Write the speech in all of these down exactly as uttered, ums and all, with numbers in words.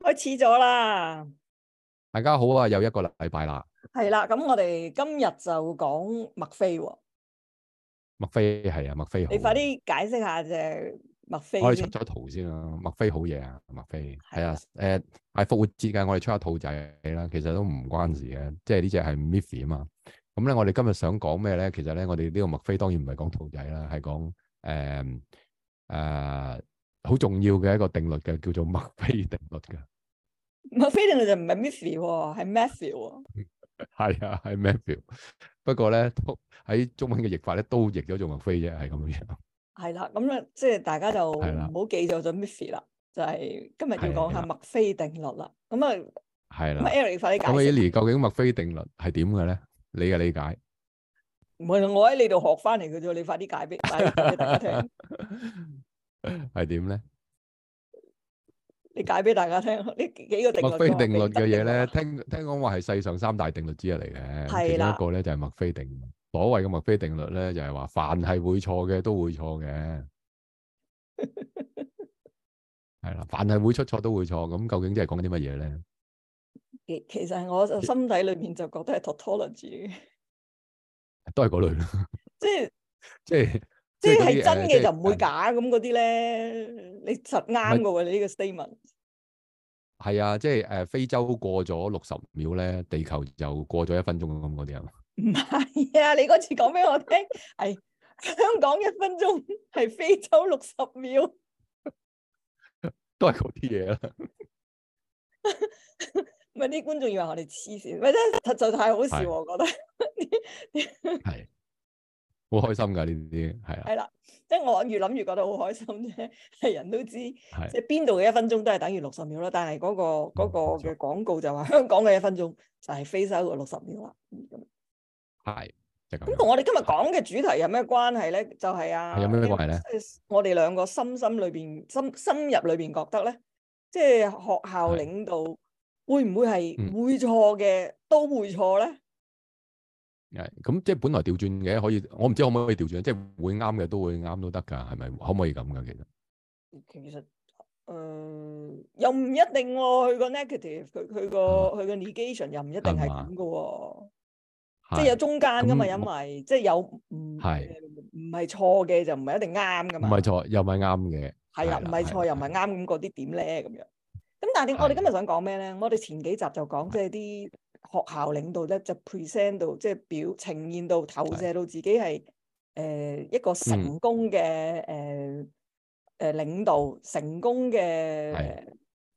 開始咗啦！ 大家好啊，又一個禮拜啦。 係啦，咁我哋今日就講麥菲喎。 麥菲係啊，麥菲好。 你快啲解釋下隻麥菲我哋出先。 咗圖先啦，麥菲好嘢啊，麥菲係啊， 係啦， 誒係復活節嘅，我哋出下兔仔啦，其實都唔關事嘅，即係呢隻係 Miffy 啊嘛。咁咧，我哋今日想講咩咧？其實咧，我哋呢個麥菲當然唔係講兔仔啦，係講誒誒好重要嘅一個定律嘅，叫做麥菲定律嘅。 麥菲定律就唔係 Miffy 喎，係 Matthew 喎。 係啊，係 Matthew。不過咧，喺中文嘅譯法咧，都譯咗做麥菲啫，係咁樣。 係啦，咁咧即係大家就唔係啦， 好記咗咗 Miffy 啦，就係今日要講下係啦， 麥菲定律啦。咁啊，咁啊係啦。 Eric 快啲解咁啊釋。 ，Eli，究竟麥菲定律係點嘅咧？你嘅理解？ 唔係我喺你度學翻嚟嘅啫，你快啲解俾解俾大家聽。 係點咧？ 你解俾大家聽，呢幾個定律。 麥菲定律嘅嘢咧， 定律聽聽講話係世上三大定律之一嚟嘅。咁其中一係啦， 個咧就係麥菲定律。所謂嘅麥菲定律咧，就係話凡係會錯嘅都會錯嘅。係啦，凡係會出錯都會錯。咁究竟即係講緊啲乜嘢咧？ 其其實我就心底裏面就覺得係 tautology 嘅， 都係嗰類咯。 即係即係即係係嗰啲真嘅就唔會誒， 假咁嗰啲咧，你實啱嘅喎，你呢個 statement。 係啊，即係誒非洲過咗六十秒咧，地球就過咗一分鐘咁嗰啲啊嘛。 唔係啊，你嗰次講俾我聽係香港一分鐘係非洲六十秒， 都係嗰啲嘢啦。 咪啲觀眾以為我哋黐線，咪真係實在太好笑， 係我覺得係好開心㗎呢啲，係啊， 係啦，即係我越諗越覺得好開心啫。係人都知， 係即係邊度嘅一分鐘都係等於六十秒啦。但係嗰個嗰個冇錯， 嘅廣告就話香港嘅一分鐘就係非洲嘅六十秒啦。咁係即係咁咁樣。 同我哋今日係講嘅主題有咩關係咧？就係啊， 係有咩關係咧？ 我哋兩個深深裏邊、深深入裏邊覺得咧，即係學校係領導會唔會係嗯會錯嘅都會錯咧？ 係咁，即係本來調轉嘅，可以我唔知可唔可以調轉，即係會啱嘅都會啱都得㗎，係咪？可唔可以咁㗎？其實其實誒、呃、又唔一定喎、哦，佢個 negative，佢佢個佢個 negation 又唔一定係咁嘅喎，即係有中間㗎嘛，因為即係有唔唔係錯嘅就唔係一定啱㗎嘛， 唔係錯又唔係啱嘅， 係啦，唔係錯又唔係啱，咁嗰啲點咧咁樣？咁但係點？我哋今日想講咩咧？我哋前幾集就講即係啲學校領導咧，就 present 到即係表呈現到投射到自己係誒、呃、一個成功嘅誒誒領導，成功嘅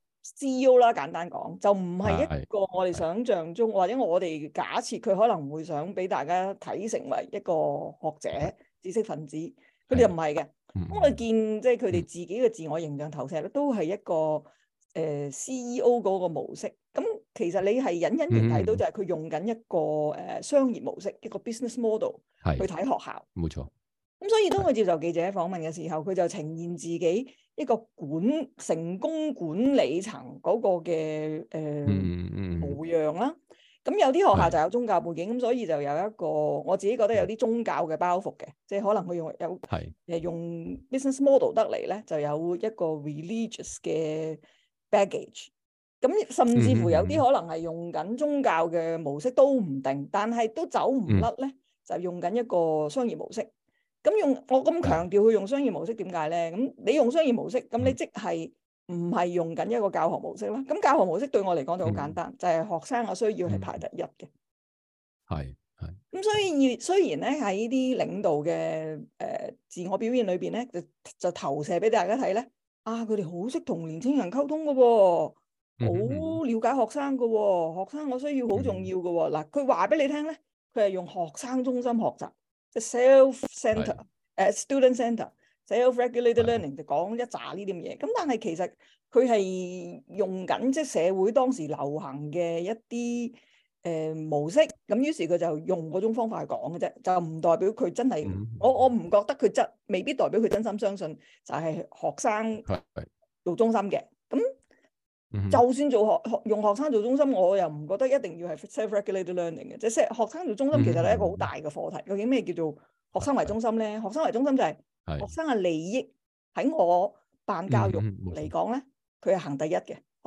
C E O 啦。簡單講，就唔係一個我哋想象中，或者我哋假設佢可能會想俾大家睇成為一個學者、知識分子，佢哋就唔係嘅。咁我見即係佢哋自己嘅自我形象投射咧，都係一個誒、呃、C E O 嗰個模式。咁其實你係隱隱然睇到就係佢用緊一個誒、呃、商業模式，一個 business model 去睇學校。冇錯。咁所以當佢接受記者訪問嘅時候，佢就呈現自己一個管成功管理層嗰個嘅誒、呃嗯嗯、模樣啦。咁有啲學校就有宗教背景，咁所以就有一個我自己覺得有啲宗教嘅包袱嘅，即係可能佢用有誒用 business model 得嚟咧，就有一個 religious 嘅 baggage。咁甚至乎有啲可能係用緊宗教嘅模式都唔定，但係都走唔甩咧，就用緊一個商業模式。咁用我咁強調佢用商業模式點解咧？咁你用商業模式，咁你即係唔係用緊一個教學模式啦？咁教學模式對我嚟講就好簡單，嗯、就係學生嘅需要係排第一嘅。係係。咁所以雖然咧喺呢啲領導嘅誒、呃、自我表現裏邊咧，就就投射俾大家睇咧，啊佢哋好識同年青人溝通嘅喎、哦，好了解學生嘅喎、哦，學生嘅需要好重要嘅喎、哦。嗱、嗯，佢話俾你聽咧，佢係用學生中心學習。即係 self-centre，誒 student-centre、self-regulated learning 就講一紮呢啲咁嘢。咁但係其實佢係用緊即係社會當時流行嘅一啲誒、呃、模式。咁於是佢就用嗰種方法去講嘅啫，就唔代表佢真係、嗯。我我唔覺得佢真未必代表佢真心相信就係學生做中心嘅。咁、嗯、就算做學學用學生做中心，我又唔覺得一定要係 self-regulated learning 嘅，即係學生做中心其實係一個好大嘅課題。究竟咩叫做學生為中心咧？學生為中心就係學生嘅利益喺我辦教育嚟講咧，佢係行第一嘅。學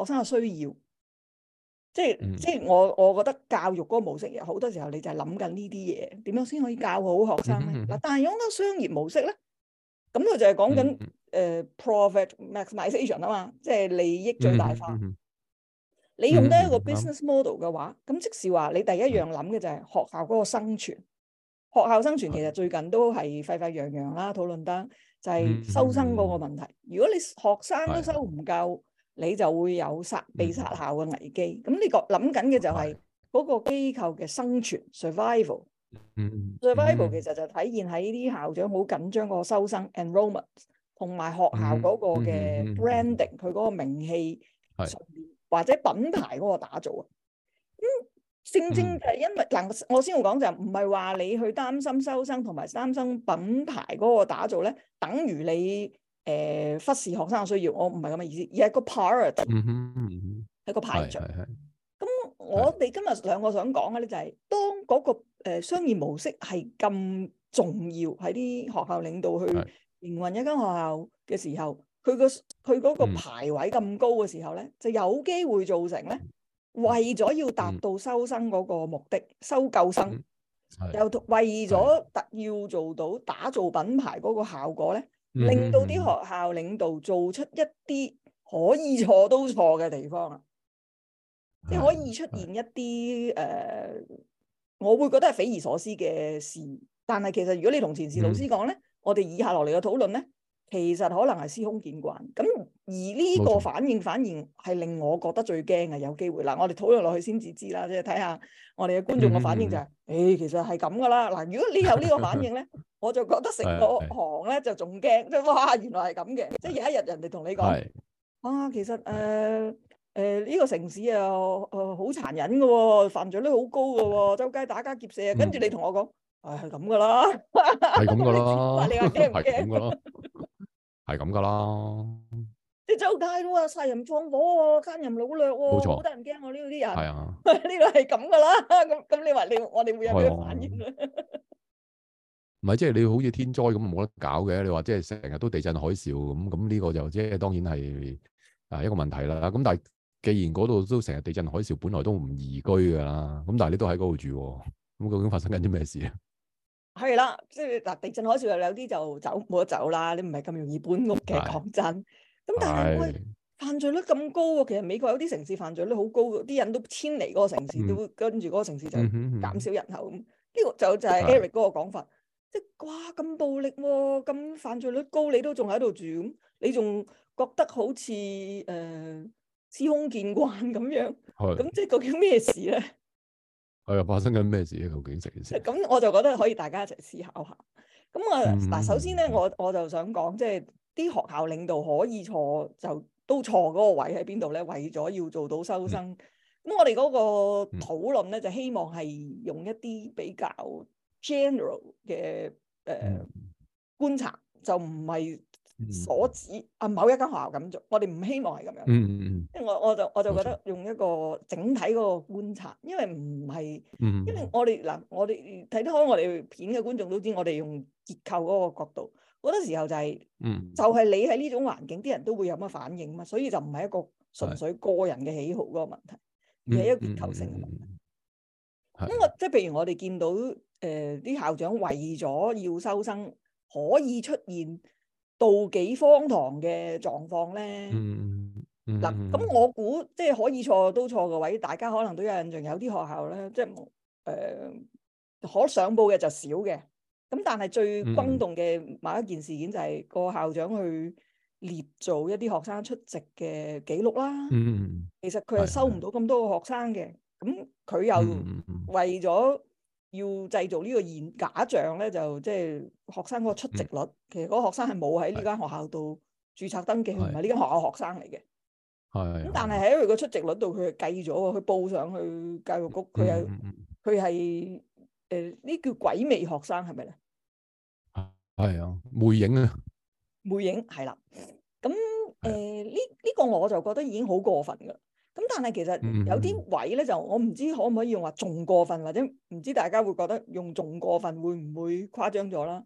學生嘅需要。即係、 嗯、 即係我我覺得教育嗰個模式，好多時候你就係諗緊呢啲嘢，點樣先可以教好學生咧？嗱、 嗯嗯嗯， 但係用個商業模式咧，咁佢就係講緊誒 profit maximization 啊嘛，即係利益最大化。 嗯嗯嗯、 你用得一個嗯嗯嗯 business model 嘅話，咁、嗯、即是話你第一樣諗嘅就係學校嗰個生存。學校生存其實最近都係沸沸揚揚啦，討論得就係收生嗰個問題。如果你學生都收唔夠，你就會有殺被殺校嘅危機。咁你個諗緊嘅就係嗰個機構嘅生存 survival。 嗯、 survival 其實就體現喺啲校長好緊張個收生 enrollment，同埋學校嗰個嘅 branding，佢嗰個名氣上面或者品牌嗰個打造啊。咁正正就係因為嗱，我先會講就唔係話你去擔心收生同埋擔心品牌嗰個打造咧，等於你誒、呃、忽視學生嘅需要。我唔係咁嘅意思，而係個 priority，係、嗯嗯、個排序。咁我哋今日兩個想講嘅咧就係、是，當嗰、那個誒、呃、商業模式係咁重要喺啲學校領導去營運一間學校嘅時候，佢個佢嗰個排位咁高嘅時候咧，就有機會造成咧。為咗要達到收生嗰個目的，嗯、收夠生，嗯、又為咗特要做到打造品牌嗰個效果咧，嗯、令到啲學校領導做出一啲可以錯都錯嘅地方啦，即係、嗯、可以出現一啲誒、呃，我會覺得係匪夷所思嘅事。但係其實如果你同前線老師講咧，嗯、我哋以下落嚟嘅討論咧。其實可能係司空見慣，咁而呢個反應反而係令我覺得最驚嘅，有機會嗱，我哋討論落去先至知啦，即係睇下我哋嘅觀眾嘅反應就係、是，誒、嗯欸、其實係咁噶啦，嗱，如果你有呢個反應咧，我就覺得成個行咧就仲驚，即係哇原來係咁嘅，即係有一日人哋同你講，啊其實誒誒呢個城市啊誒好殘忍嘅喎，犯罪率好高嘅喎，周街打家劫舍啊，跟住你同我講，誒係咁噶啦， 係咁噶啦， 你話驚唔驚？ 係咁噶啦， 即係周街都話殺人放火喎，奸淫擄掠喎， 冇錯， 好得人驚喎呢度啲人。 係啊， 呢個係咁噶啦。咁咁你話你我哋會有咩反應咧？ 唔係即係你好似天災咁冇得搞嘅。你話即係成日都地震海嘯咁，咁呢個就即係當然係啊一個問題啦。咁但係既然嗰度都成日地震海嘯，本來都唔宜居噶啦。咁但係你都喺嗰度住，咁究竟發生緊啲咩事啊？ 係啦，即係嗱，地震海嘯又有啲就走冇得走啦，你唔係咁容易搬屋嘅，講真。咁但係喂，犯罪率咁高喎，其實美國有啲城市犯罪率好高，啲人都遷離嗰個城市，嗯、都跟住嗰個城市就減少人口咁。呢、嗯嗯、個就就係 Eric 嗰個講法，即係哇咁暴力喎、啊，咁犯罪率高，你都仲喺度住，咁你仲覺得好似誒、呃、司空見慣咁樣，咁即係究竟咩事咧？ 係啊，發生緊咩事咧？究竟成件事？ 咁我就覺得可以大家一齊思考下。咁啊，嗱、 嗯， 首先咧，我我就想講，即係啲學校領導可以錯，就都錯嗰個位喺邊度咧？為咗要做到收生，咁、嗯、我哋嗰個討論咧，就希望係用一啲比較 general 嘅誒、呃嗯、觀察，就唔係所指啊某一間學校咁做。我哋唔希望係咁樣。 嗯嗯嗯。 即係我我就我就覺得用一個整體嗰個觀察，因為唔係， 嗯、 因為我哋嗱，我哋睇得開我哋片嘅觀眾都知，我哋用結構嗰個角度，好多時候就係、是， 嗯、就係你喺呢種環境，啲人都會有乜反應嘛，所以就唔係一個純粹個人嘅喜好嗰個問題，而係一個結構性嘅問題。咁、嗯、我即係譬如我哋見到誒啲、呃、校長為咗要收生，可以出現妒忌荒唐嘅狀況咧。 嗯嗱，咁、嗯、我估即係可以錯都錯嘅位，大家可能都有印象，有啲學校咧，即係誒、呃、可上報嘅就少嘅。咁但係最轟動嘅某一件事件就係個校長去捏造一啲學生出席嘅記錄啦。 嗯、 其實佢係收唔到咁多個學生嘅，咁佢又為咗要製造呢個現假象咧，就即係學生嗰個出席率，嗯、其實嗰個學生係冇喺呢間學校度註冊登記，佢唔係呢間學校學生嚟嘅。咁但係喺佢個出席率度，佢係計咗喎，佢報上去教育局，佢係佢係誒呢叫鬼魅學生係咪咧？ 係啊，魅影啊， 魅影係啦。咁誒呢呢個我就覺得已經好過分㗎。咁但係其實有啲位咧，就我唔知可唔可以用話仲過分，或者唔知大家會覺得用仲過分會唔會誇張咗啦？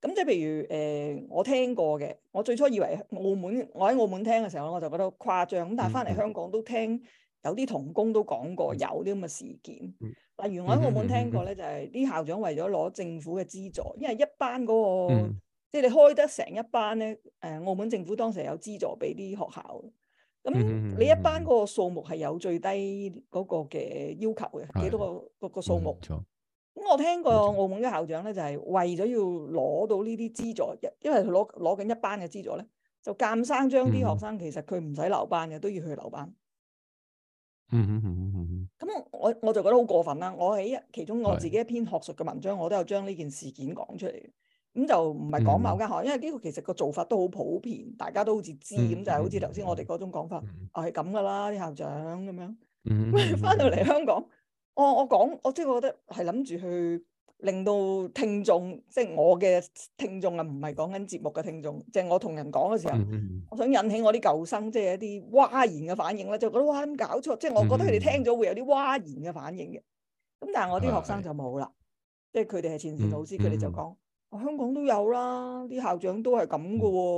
咁即係譬如誒、呃，我聽過嘅，我最初以為澳門，我喺澳門聽嘅時候，我就覺得誇張。咁但係翻嚟香港都聽有啲同工都講過有啲咁嘅事件。例如我喺澳門聽過咧，就係啲校長為咗攞政府嘅資助，因為一班嗰、那個即係、嗯、你開得成一班咧，誒澳門政府當時有資助俾啲學校。咁你一班嗰個數目係有最低嗰個嘅要求嘅，幾多個個個數目？咁我聽過澳門嘅校長咧，就係為咗要攞到呢啲資助，因為佢攞攞緊一班嘅資助咧，就監生將啲學生其實佢唔使留班嘅，都要去留班。 嗯嗯嗯嗯嗯。 咁我我就覺得好過分啦！我喺其中我自己一篇學術嘅文章，我都有將呢件事件講出嚟。咁就唔係講某間學校，因為呢個其實個做法都好普遍，大家都好似知咁，就係好似頭先我哋嗰種講法，啊係咁噶啦，啲校長咁樣。咁翻到嚟香港。我我講，我即係覺得係諗住去令到聽眾，即係我嘅聽眾啊，唔係講緊節目嘅聽眾，即係我同人講嘅時候，我想引起我啲舊生，即係一啲嘩然嘅反應咧，就覺得哇，咁搞錯，即係我覺得佢哋聽咗會有啲嘩然嘅反應嘅。咁但係我啲學生就冇啦，即係佢哋係前線老師，佢哋就講，香港都有啦，啲校長都係咁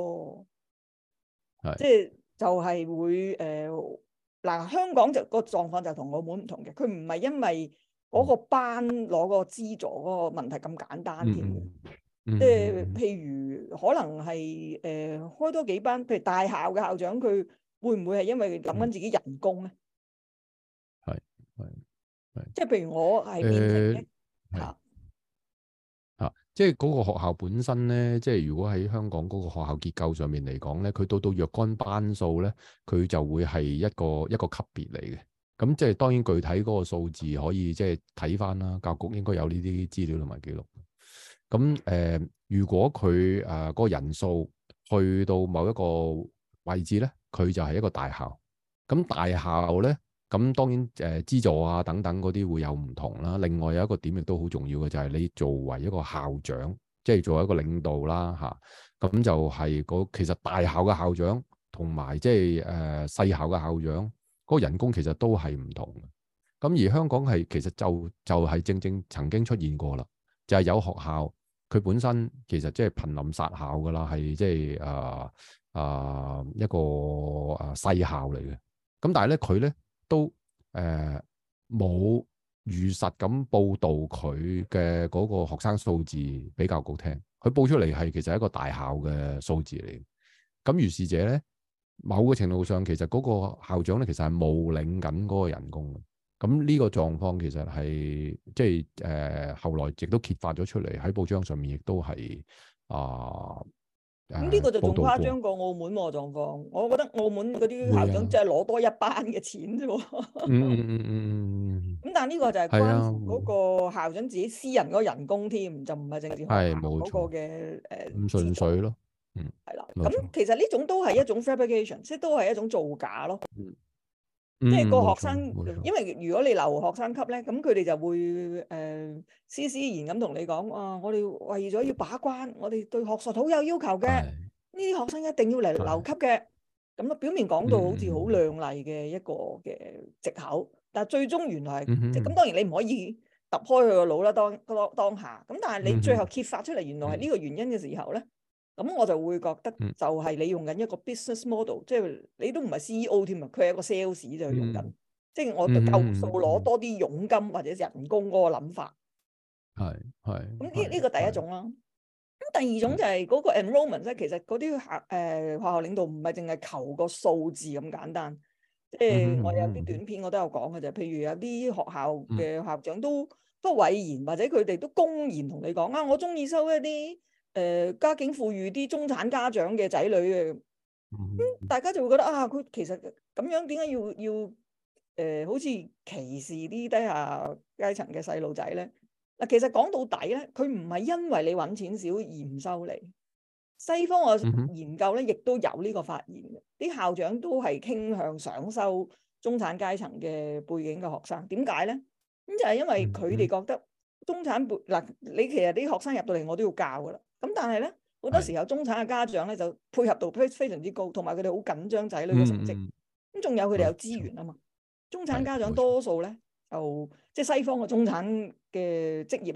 噶喎，即係就係會誒。嗱，香港就個狀況就同澳門唔同嘅，佢唔係因為嗰個班攞個資助嗰個問題咁簡單添嘅，即係譬如可能係誒、呃、開多幾班，譬如大校嘅校長，佢會唔會係因為諗緊自己人工咧？ 係係係， 即係譬如我係變成嘅嚇。 啊，即係嗰個學校本身咧，即係如果喺香港嗰個學校結構上面嚟講咧，佢到到若干班數咧，佢就會係一個一個級別嚟嘅。咁即係當然具體嗰個數字可以即係睇翻啦，教育局應該有呢啲資料同埋記錄。咁誒、呃，如果佢誒嗰個人數去到某一個位置咧，佢就係一個大校。咁大校咧。咁當然誒、呃、資助啊等等嗰啲會有唔同啦。另外有一個點亦都好重要嘅就係、是、你作為一個校長，即係作為一個領導啦嚇。咁、啊、就係、是、嗰其實大校嘅校長同埋即係誒細校嘅校長嗰、那個人工其實都係唔同嘅。咁而香港係其實就就係、是、正正曾經出現過啦，就係、是、有學校佢本身其實即係瀕臨殺校㗎啦，係即係誒誒一個誒細校嚟嘅。咁但係咧佢咧。都誒冇、呃、如實咁報導佢嘅嗰個學生數字比較高聽，佢報出嚟係其實係一個大校嘅數字嚟。咁如是者咧，某個程度上其實嗰個校長咧其實係冒領緊嗰個人工嘅。咁呢個狀況其實係即係誒、呃、後來亦都揭發咗出嚟喺報章上面，亦都係啊。呃咁呢、嗯這個就仲誇張過澳門喎狀況，我覺得澳門嗰啲校長即係攞多一班嘅錢啫喎。嗯嗯嗯嗯。咁但係呢個就係關乎嗰個校長自己私人嗰個人工添，就唔係淨係學校嗰個嘅誒。 唔純粹咯。嗯。係啦。 咁其實呢種都係一種 fabrication，即係都係一種造假咯。 嗯。 即係個學生，因為如果你留學生級咧，咁佢哋就會誒斯斯然咁同你講啊，我哋為咗要把關，我哋對學術好有要求嘅，呢啲學生一定要嚟留級嘅。咁啊，表面講到好似好亮麗嘅一個嘅藉口，但係最終原來係即係咁。當然你唔可以揼開佢個腦啦，當當當下。咁但係你最後揭發出嚟，原來係呢個原因嘅時候咧，咁我就會覺得就係你用緊一個 business model，即係你都唔係 C E O 添啊，佢係一個 sales 就用緊，嗯、即係我夠數攞多啲佣金或者人工嗰個諗法。係係。咁呢呢個第一種啦。咁第二種就係嗰個 enrollment 咧，其實嗰啲校誒學校領導唔係淨係求個數字咁簡單。即係我有啲短片我都有講嘅啫，譬如有啲學校嘅校長都都諱言，或者佢哋都公然同你講啊，我中意收一啲。誒、呃、家境富裕啲中產家長嘅仔女嘅，咁、嗯、大家就會覺得啊，佢其實咁樣點解要要誒、呃、好似歧視啲低下階層嘅細路仔咧？嗱，其實講到底咧，佢唔係因為你揾錢少而唔收你。西方嘅研究咧，亦都有呢個發現嘅，啲校長都係傾向想收中產階層嘅背景嘅學生。點解咧？咁就係因為佢哋覺得中產背嗱，你其實啲學生入到嚟，我都要教噶啦。咁但係咧，好多時候中產嘅家長咧就配合度非常之高，同埋佢哋好緊張仔女嘅成績。咁仲、嗯嗯、有佢哋有資源啊嘛。中產家長多數咧就即係西方嘅中產嘅職業咧，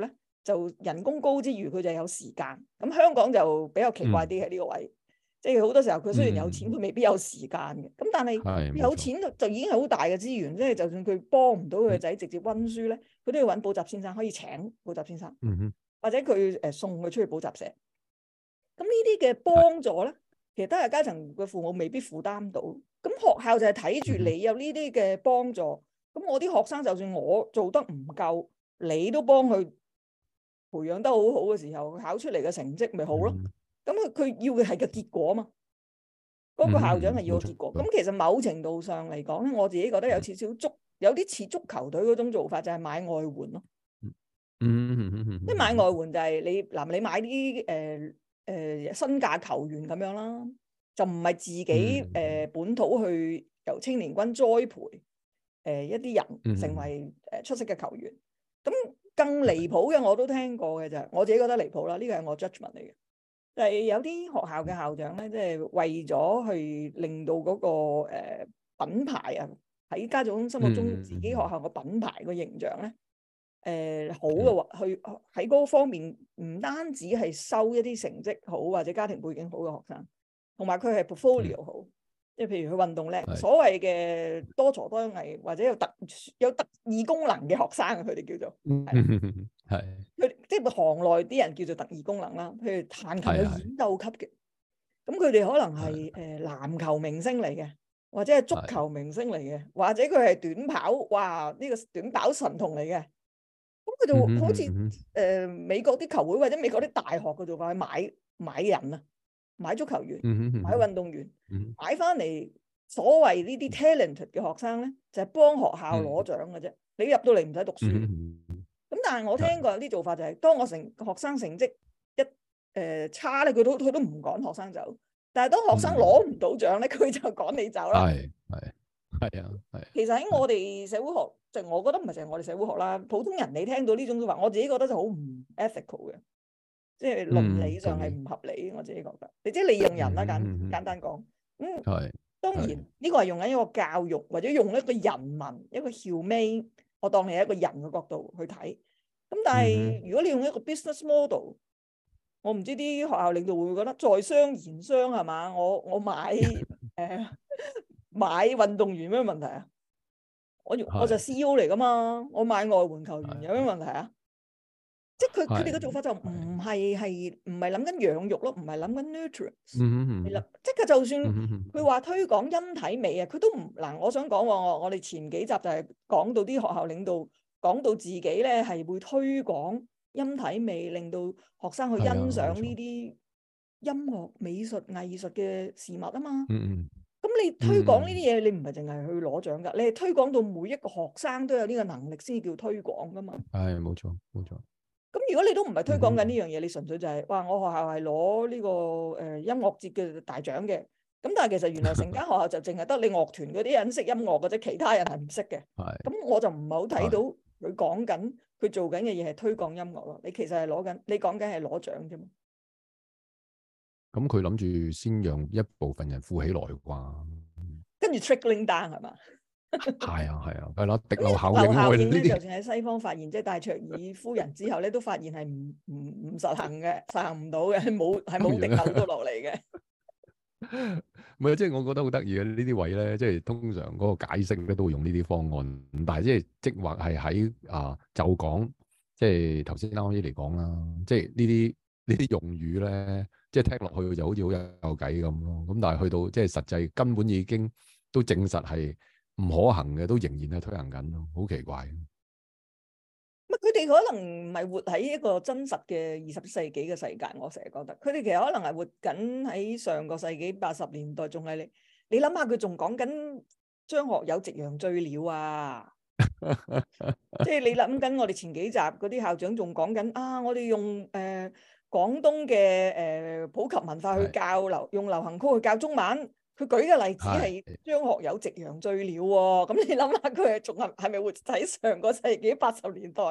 就人工高之餘，佢就有時間。咁香港就比較奇怪啲喺呢個位，即係好多時候佢雖然有錢，佢、嗯、未必有時間嘅。咁但係有錢就已經係好大嘅資源，即係就算佢幫唔到佢個仔直接溫書咧，佢、嗯、都要揾補習先生，可以請補習先生， 嗯、哼或者佢誒送佢出去補習社。咁呢啲嘅幫助咧，其實都係階層嘅父母未必負擔到。咁學校就係睇住你有呢啲嘅幫助，咁、嗯、我啲學生就算我做得唔夠，你都幫佢培養得好好嘅時候，考出嚟嘅成績咪好咯。咁佢佢要嘅係個結果嘛，嗰、那個校長係要個結果。咁、嗯、其實某程度上嚟講咧，我自己覺得有少少足，有啲似足球隊嗰種做法，就係、是、買外援咯。 嗯嗯嗯嗯， 即係買外援就係你嗱，你買啲誒誒身價球員咁樣啦，就唔係自己誒、嗯呃、本土去由青年軍栽培誒、呃、一啲人成為誒出色嘅球員。咁、嗯、更離譜嘅我都聽過嘅就係，我自己覺得離譜啦。呢個係我 judgment 嚟嘅，就係、是、有啲學校嘅校長咧，即、就、係、是、為咗去令到嗰、那個、呃、品牌啊，喺家長心目中自己學校個品牌個形象咧。誒、呃、好嘅話，去喺嗰方面唔單止係收一啲成績好或者家庭背景好嘅學生，同埋佢係 portfolio 好，即、嗯、係譬如佢運動叻，所謂嘅多才多藝或者有特有特異功能嘅學生，佢哋叫做係佢即係行內啲人叫做特異功能啦。譬如彈琴有演奏級嘅，咁佢哋可能係誒、呃、籃球明星嚟嘅，或者係足球明星嚟嘅，或者佢係短跑，哇呢、這個短跑神童嚟嘅。咁佢就好似誒、嗯呃、美國啲球會或者美國啲大學嘅做法，去買買人啊，買足球員、嗯、買運動員，嗯、買翻嚟所謂呢啲 talented 嘅學生咧，就係、是、幫學校攞獎嘅啫。你入到嚟唔使讀書。咁、嗯嗯、但係我聽過有啲做法就係、是，當我成學生成績一誒、呃、差咧，佢都佢都唔趕學生走。但係當學生攞唔到獎咧，佢、嗯、就趕你走啦。 係係係啊係。 其實喺我哋社會學。就我覺得唔係淨係我哋社會學啦，普通人你聽到呢種說法，我自己覺得就好唔 ethical 嘅，即係倫理上係唔合理、嗯。我自己覺得，你即係利用人啦，簡、嗯、簡單講。咁、嗯、當然呢、這個係用緊一個教育或者用一個人文一個 humane，我當你係一個人嘅角度去睇。咁但係、嗯、如果你用一個 business model，我唔知啲學校領導會唔會覺得在商言商係嘛？我我買誒、呃、買運動員咩問題啊？我我就 C E O 嚟噶嘛，我買外援球員有咩問題啊？即係佢佢哋嘅做法就唔係係唔係諗緊養育咯，唔係諗緊 nutrients。嗯嗯。即係佢就算佢話推廣陰體美啊，佢都唔嗱。我想講我我哋前幾集就係講到啲學校領導講到自己咧係會推廣陰體美，令到學生去欣賞呢啲音樂、美術、藝術嘅事物啊嘛。嗯嗯。咁你推廣呢啲嘢，你唔係淨係去攞獎噶，你係推廣到每一個學生都有呢個能力先叫推廣噶嘛。 係，冇錯冇錯。 咁如果你都唔係推廣緊呢樣嘢，你純粹就係、是、哇，我學校係攞呢個誒、呃、音樂節嘅大獎嘅。咁但係其實原來成間學校就淨係得你樂團嗰啲人識音樂嘅啫，其他人係唔識嘅。係。咁我就唔係好睇到佢講緊佢做緊嘅嘢係推廣音樂咯。你其實係攞緊，你講緊係攞獎啫嘛。 咁佢諗住先讓一部分人富起來啩， 跟住 trickling down 係嘛？ 係啊係啊，係咯，滴漏效應。效應咧， 呢啲就算喺西方發現，即係戴卓爾夫人之後咧，都發現係唔唔唔實行嘅，實行唔到嘅，冇係冇滴漏到落嚟嘅。 唔係，即係我覺得好得意嘅呢啲位咧，即係通常嗰個解釋咧都會用呢啲方案，但係即係即或係喺啊就講，即係頭先啱啱嚟講啦，即係呢啲呢啲用語咧。即係聽落去就好似好有有計咁咯，咁但係去到即係實際根本已經都證實係唔可行嘅，都仍然係推行緊咯，好奇怪。 乜佢哋可能唔係活喺一個真實嘅二十世紀嘅世界，我成日覺得佢哋其實可能係活緊喺上個世紀八十年代，仲係你你諗下佢仲講緊張學友夕陽醉了啊！即係你諗緊我哋前幾集嗰啲校長仲講緊啊，我哋用誒。呃廣東嘅誒、呃、普及文化去教流，用流行曲去教中文。佢舉嘅例子係張學友夕陽醉了喎、哦。咁你諗下，佢係仲係係咪活喺上個世紀八十年代？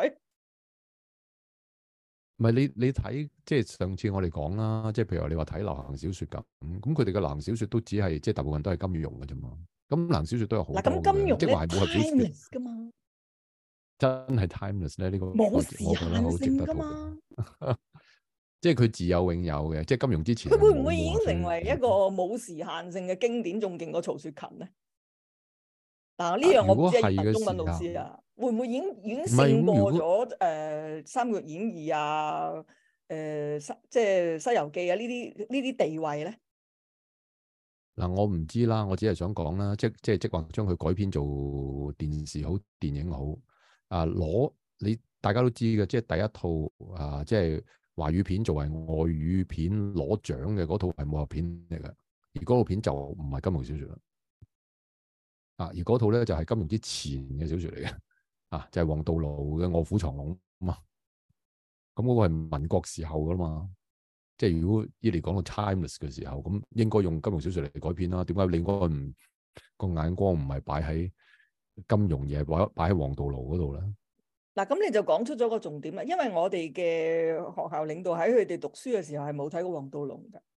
唔係你你睇，即係上次我哋講啦，即係譬如話你話睇流行小説咁，咁佢哋嘅流行小説都只係即係大部分都係金庸嘅啫嘛。咁流行小説都有好多嘅，即係話係武俠小説㗎嘛。 真係 timeless 咧？呢、這個冇時我覺得好值限性得討㗎嘛。 論。即係佢自有永有嘅，即係金融之前佢會唔係冇會已經冇成為一個冇時限性嘅經典，仲勁過曹雪芹咧？嗱，呢樣我唔知係文中文老師啊，會唔會已經已經勝過咗誒《三國演義》啊、誒、呃、西即係《西遊記》啊呢啲呢啲地位咧？ 嗱，我唔知啦，我只係想講啦，即即係即話將佢改編做電視好、電影好啊，攞你大家都知嘅，即係第一套啊，即係華語片作為外語片攞獎嘅嗰套係武俠片嚟嘅，而嗰套片就唔係金庸小説啦。啊！而嗰套咧就係、是、金庸之前嘅小説嚟嘅，啊就係、是、黃道路嘅《臥虎藏龍》啊嘛。咁嗰個係民國時候噶嘛，即係如果依嚟講到 timeless 嘅時候，咁應該用金庸小説嚟改編啦。點解你應該唔個眼光唔係擺喺金庸而係擺擺喺黃道路嗰度咧？ 嗱，咁你就講出咗個重點啦，因為我哋嘅學校領導喺佢哋讀書嘅時候係冇睇過黃道龍㗎。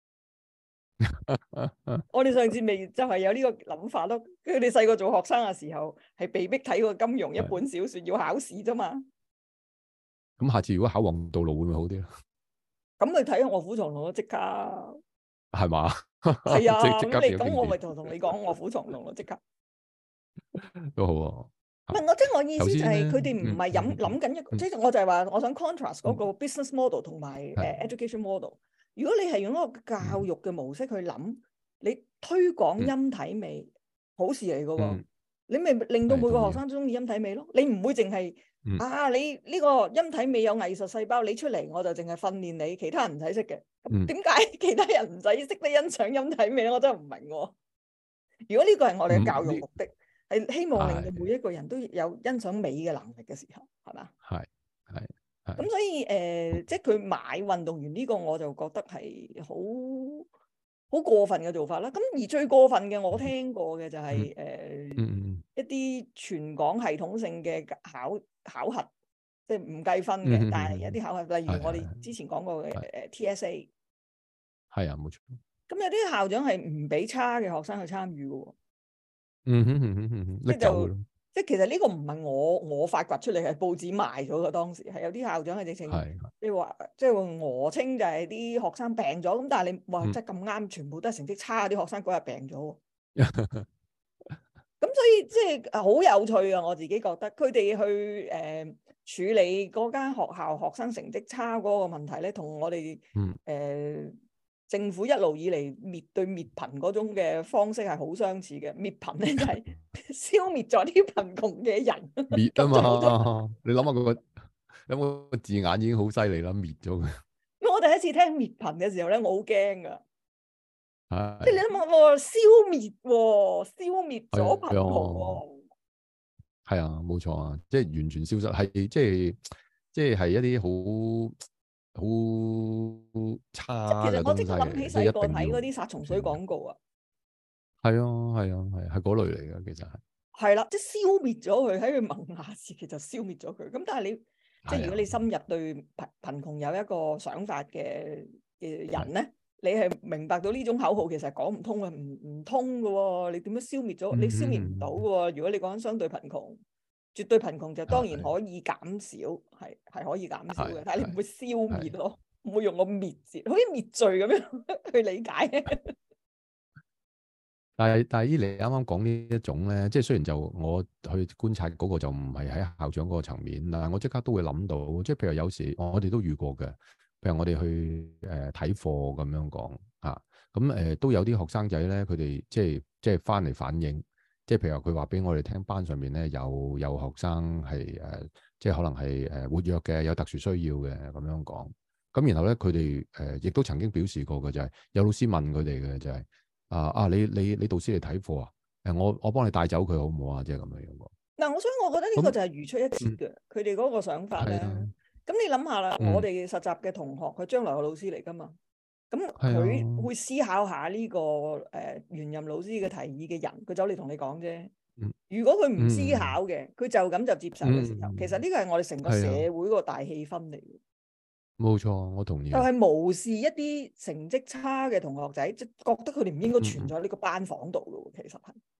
我哋上次未就係有呢個諗法咯。佢哋細個做學生嘅時候係被逼睇過金庸一本小說，要考試啫嘛。 咁下次如果考黃道路會唔會好啲咧？ 咁你睇下《臥虎藏龍》咯，即刻係嘛？ 係啊， 即刻咁你咁我咪同同你講《臥虎藏龍》咯，即刻都好啊。 唔係我即係我意思就係佢哋唔係諗嗯諗緊一個， 嗯即係我就係話我想 contrast 嗰個嗯 business model 同埋誒係 education model。如果你係用一個教育嘅模式去諗，你推廣嗯音體美，好事嚟㗎喎。 嗯你咪令到每個係同意學生都中意音體美咯。你唔會淨係嗯啊，你呢個音體美有藝術細胞，你出嚟我就淨係訓練你，其他人唔使識嘅。咁點解其他人唔使識得欣賞音體美咧？我真係唔明喎。如果呢個係我哋嘅教育目的，係、嗯、希望令到每一個人都有欣賞美嘅能力嘅時候，係嘛？ 係係係。 咁所以誒、呃，即係佢買運動員呢個，我就覺得係好好過分嘅做法啦。咁而最過分嘅，我聽過嘅就係、是、誒、 嗯呃嗯、 一啲全港系統性嘅考考核，即係唔計分嘅， 嗯、 但係一啲考核，例如我哋之前講過嘅誒 T S A， 係啊，冇錯。 咁有啲校長係唔俾差嘅學生去參與嘅喎。 嗯哼嗯哼嗯哼，拎走咯。 即係其實呢個唔係我我發掘出嚟，係報紙賣咗嘅。當時係有啲校長係直情，你話即係訛稱就係啲學生病咗，咁但係你話即係咁啱，全部都係成績差啲學生嗰日病咗。咁所以即係好有趣啊！我自己覺得佢哋去誒、呃、處理嗰間學校學生成績差嗰個問題咧，同我哋誒。 嗯呃政府一路以嚟滅對滅貧嗰種嘅方式係好相似嘅，滅貧咧就係消滅咗啲貧窮嘅人。 滅啊嘛！你諗下嗰個有冇個字眼已經好犀利啦，滅咗佢。 我第一次聽滅貧嘅時候咧，我好驚噶，即係你諗下喎，消滅喎，消滅咗貧窮喎。 係啊，冇錯啊，即係完全消失，係即係即係係一啲好。好差嘅東西。 其實我即刻諗起細個睇嗰啲殺蟲水廣告啊。 係啊，係啊，係係嗰類嚟嘅，其實係。 係啦，即係消滅咗佢喺佢萌芽時期就消滅咗佢。咁但係你即係如果你深入對貧貧窮有一個想法嘅嘅人咧，你係明白到呢種口號其實講唔通嘅，唔唔通嘅喎。你點樣消滅咗？你消滅唔到嘅喎。如果你講緊相對貧窮。絕對貧窮就當然可以減少，係係可以減少嘅，但係你唔會消滅咯，唔會用個滅字，好似滅罪咁樣去理解。 但係但係依你啱啱講呢一種咧，即係雖然就我去觀察嗰個就唔係喺校長嗰個層面，但係我即刻都會諗到，即係譬如有時我哋都遇過嘅，譬如我哋去誒睇課咁樣講啊，咁誒、呃、都有啲學生仔咧，佢哋即係即係翻嚟反映。即係譬如話佢話俾我哋聽，班上面咧有有學生係誒、呃，即係可能係誒活躍嘅，有特殊需要嘅咁樣講。咁然後咧，佢哋誒亦都曾經表示過嘅就係、是、有老師問佢哋嘅就係、是、啊啊，你你你導師嚟睇課啊？誒，我我幫你帶走佢好唔好啊？即係咁樣樣講。 嗱，我所以我覺得呢個就係如出一轍嘅，佢哋嗰個想法咧。咁你諗下啦， 嗯、 我哋實習嘅同學，佢將來嘅老師嚟噶嘛？咁佢會思考下呢、這個誒、呃、原任老師嘅提議嘅人，佢走嚟同你講啫。如果佢唔思考嘅，佢、嗯、就咁就接受嘅時候，嗯、其實呢個係我哋成個社會個大氣氛嚟嘅。 冇錯，我同意。 就係無視一啲成績差嘅同學仔，即係覺得佢哋唔應該存在呢個班房度咯。其實係。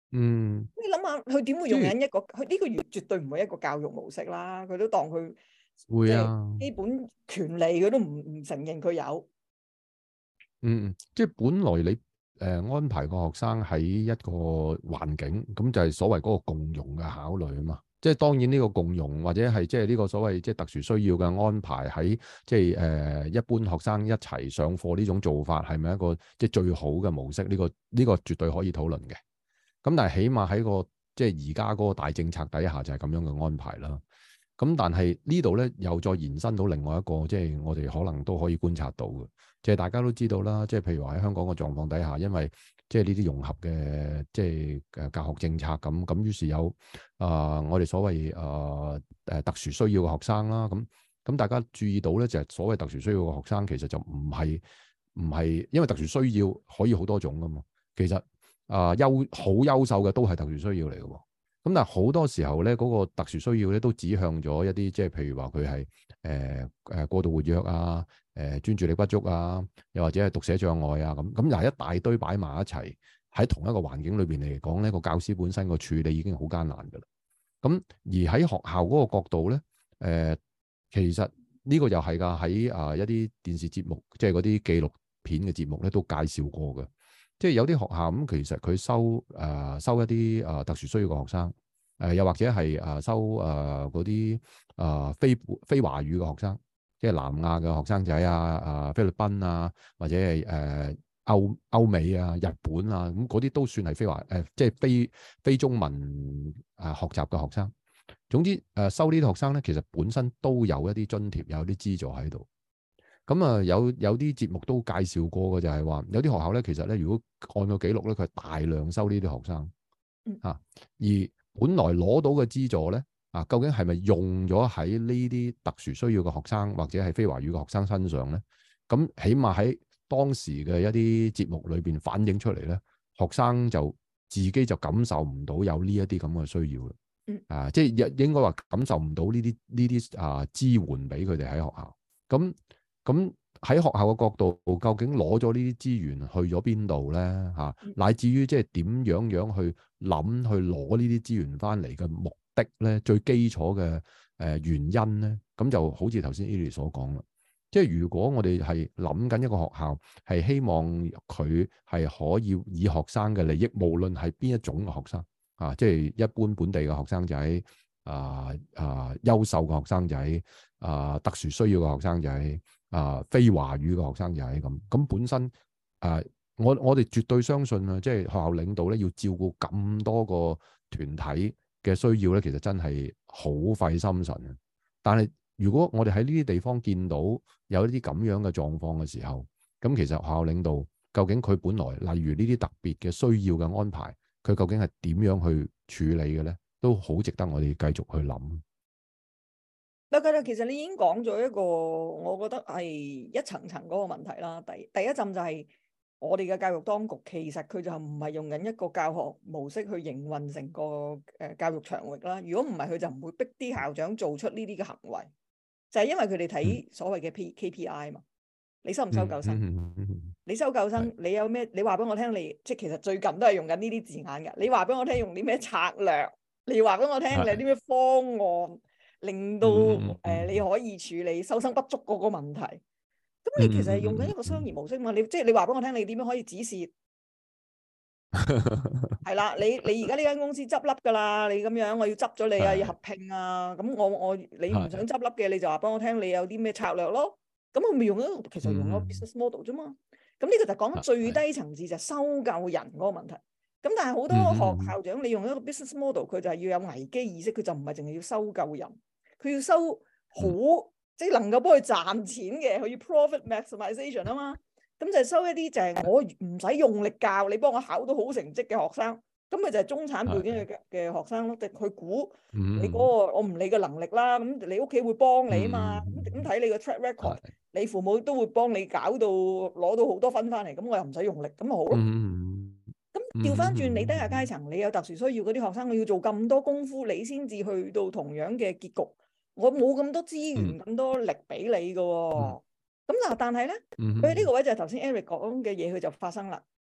嗯， 你諗下，佢點會用緊一個？佢呢個絕絕對唔係一個教育模式啦。佢都當佢即係會啊， 基本權利，佢都唔唔承認佢有。 嗯，即係本來你誒、呃、安排個學生喺一個環境，咁就係所謂嗰個共融嘅考慮啊嘛。即係當然呢個共融或者係即係呢個所謂即係特殊需要嘅安排喺即係誒、呃、一般學生一齊上課呢種做法係咪一個即係最好嘅模式？呢、呢個呢、呢個絕對可以討論嘅。咁但係起碼喺個即係而家嗰個大政策底下就係咁樣嘅安排啦。咁但係呢度咧又再延伸到另外一個，即係我哋可能都可以觀察到嘅，即係大家都知道啦。即係譬如話喺香港嘅狀況底下，因為即係呢啲融合嘅即係誒教學政策咁，咁於是有啊、呃、我哋所謂誒誒特殊需要嘅學生啦。咁咁大家注意到咧，就係所謂特殊需要嘅學生其實就唔係唔係，因為特殊需要可以好多種噶嘛。其實啊優好優秀嘅都係特殊需要嚟嘅喎。咁但係好多時候咧，嗰、那個特殊需要咧都指向咗一啲，即係譬如話佢係誒誒過度活躍啊，誒、呃、專注力不足啊，又或者係讀寫障礙啊咁。咁又係一大堆擺埋一齊喺同一個環境裏邊嚟講咧，個教師本身個處理已經好艱難㗎啦。咁而喺學校嗰個角度咧，誒、呃、其實呢個又係㗎，喺啊一啲電視節目，即係嗰啲紀錄片嘅節目咧都介紹過嘅。即係有啲學校咁，其實佢收誒、呃、收一啲誒、呃、特殊需要嘅學生，誒、呃、又或者係誒、呃、收誒嗰啲誒非非華語嘅學生，即係南亞嘅學生仔啊、誒、呃、菲律賓啊，或者係誒、呃、歐歐美啊、日本啊，咁嗰啲都算係非華誒、呃，即係非非中文誒、呃、學習嘅學生。總之誒、呃、收呢啲學生咧，其實本身都有一啲津貼，有啲資助喺度。咁啊，有有啲節目都介紹過嘅，就係話有啲學校咧，其實咧，如果按個記錄咧，佢係大量收呢啲學生嚇、啊，而本來攞到嘅資助咧，啊，究竟係咪用咗喺呢啲特殊需要嘅學生或者係非華語嘅學生身上咧？咁起碼喺當時嘅一啲節目裏邊反映出嚟咧，學生就自己就感受唔到有呢一啲咁嘅需要啦，啊，即係應應該話感受唔到呢啲呢啲啊支援俾佢哋喺學校咁。咁喺學校嘅角度，究竟攞咗呢啲資源去咗邊度咧？嚇、啊，乃至於即係點樣樣去諗去攞呢啲資源翻嚟嘅目的咧？最基礎嘅誒、呃、原因咧，咁就好似頭先 Eli 所講啦。即係如果我哋係諗緊一個學校，係希望佢係可以以學生嘅利益，無論係邊一種嘅學生啊，即係一般本地嘅學生仔啊啊，優秀嘅學生仔啊，特殊需要嘅學生仔。啊，非華語嘅學生就係咁，咁本身啊，我我哋絕對相信啊，即係學校領導咧要照顧咁多個團體嘅需要咧，其實真係好費心神啊。但係如果我哋喺呢啲地方見到有一啲咁樣嘅狀況嘅時候，咁其實學校領導究竟佢本來例如呢啲特別嘅需要嘅安排，佢究竟係點樣去處理嘅咧，都好值得我哋繼續去諗。 嗱，其實你已經講咗一個，我覺得係一層層嗰個問題啦。第第一陣就係我哋嘅教育當局，其實佢就唔係用緊一個教學模式去營運成個誒教育場域啦。如果唔係，佢就唔會逼啲校長做出呢啲嘅行為，就係因為佢哋睇所謂嘅 P K P I 嘛。你收唔收夠生？你收夠生，你有咩？你話俾我聽，你即係其實最近都係用緊呢啲字眼㗎。你話俾我聽用啲咩策略？你話俾我聽你有啲咩方案？令到誒、呃、你可以處理收生不足嗰個問題，咁你其實係用緊一個商業模式嘛？你即係你話俾我聽，你點樣可以止蝕？係啦，你你而家呢間公司執笠㗎啦，你咁樣我要執咗你啊，要合併啊，咁我我你唔想執笠嘅，你就話俾我聽，你有啲咩策略咯？咁佢咪用一個其實用一個 business model 啫嘛？咁呢個就講緊最低層次就係收夠人嗰個問題。咁但係好多學校長，你用一個 business model，佢就係要有危機意識，佢就唔係淨係要收夠人。佢要收好，嗯、即係能夠幫佢賺錢嘅，佢要 profit maximization 啊嘛。咁就係收一啲就係我唔使用，用力教你，幫我考到好成績嘅學生。咁咪就係中產背景嘅嘅學生咯。即係佢估你嗰、嗰個，我唔理個能力啦。咁你屋企會幫你啊嘛。咁咁睇你個 track record，你父母都會幫你搞到攞到好多分翻嚟。咁我又唔使用，用力，咁咪好咯。咁調翻轉，你低下階層，你有特殊需要嗰啲學生，我要做咁多功夫，你先至去到同樣嘅結局。我冇咁多資源，咁、嗯、多力俾你嘅喎、哦。咁嗱、嗯，但係咧，佢呢、嗯、個位就係頭先 Eric 講嘅嘢，佢就發生啦。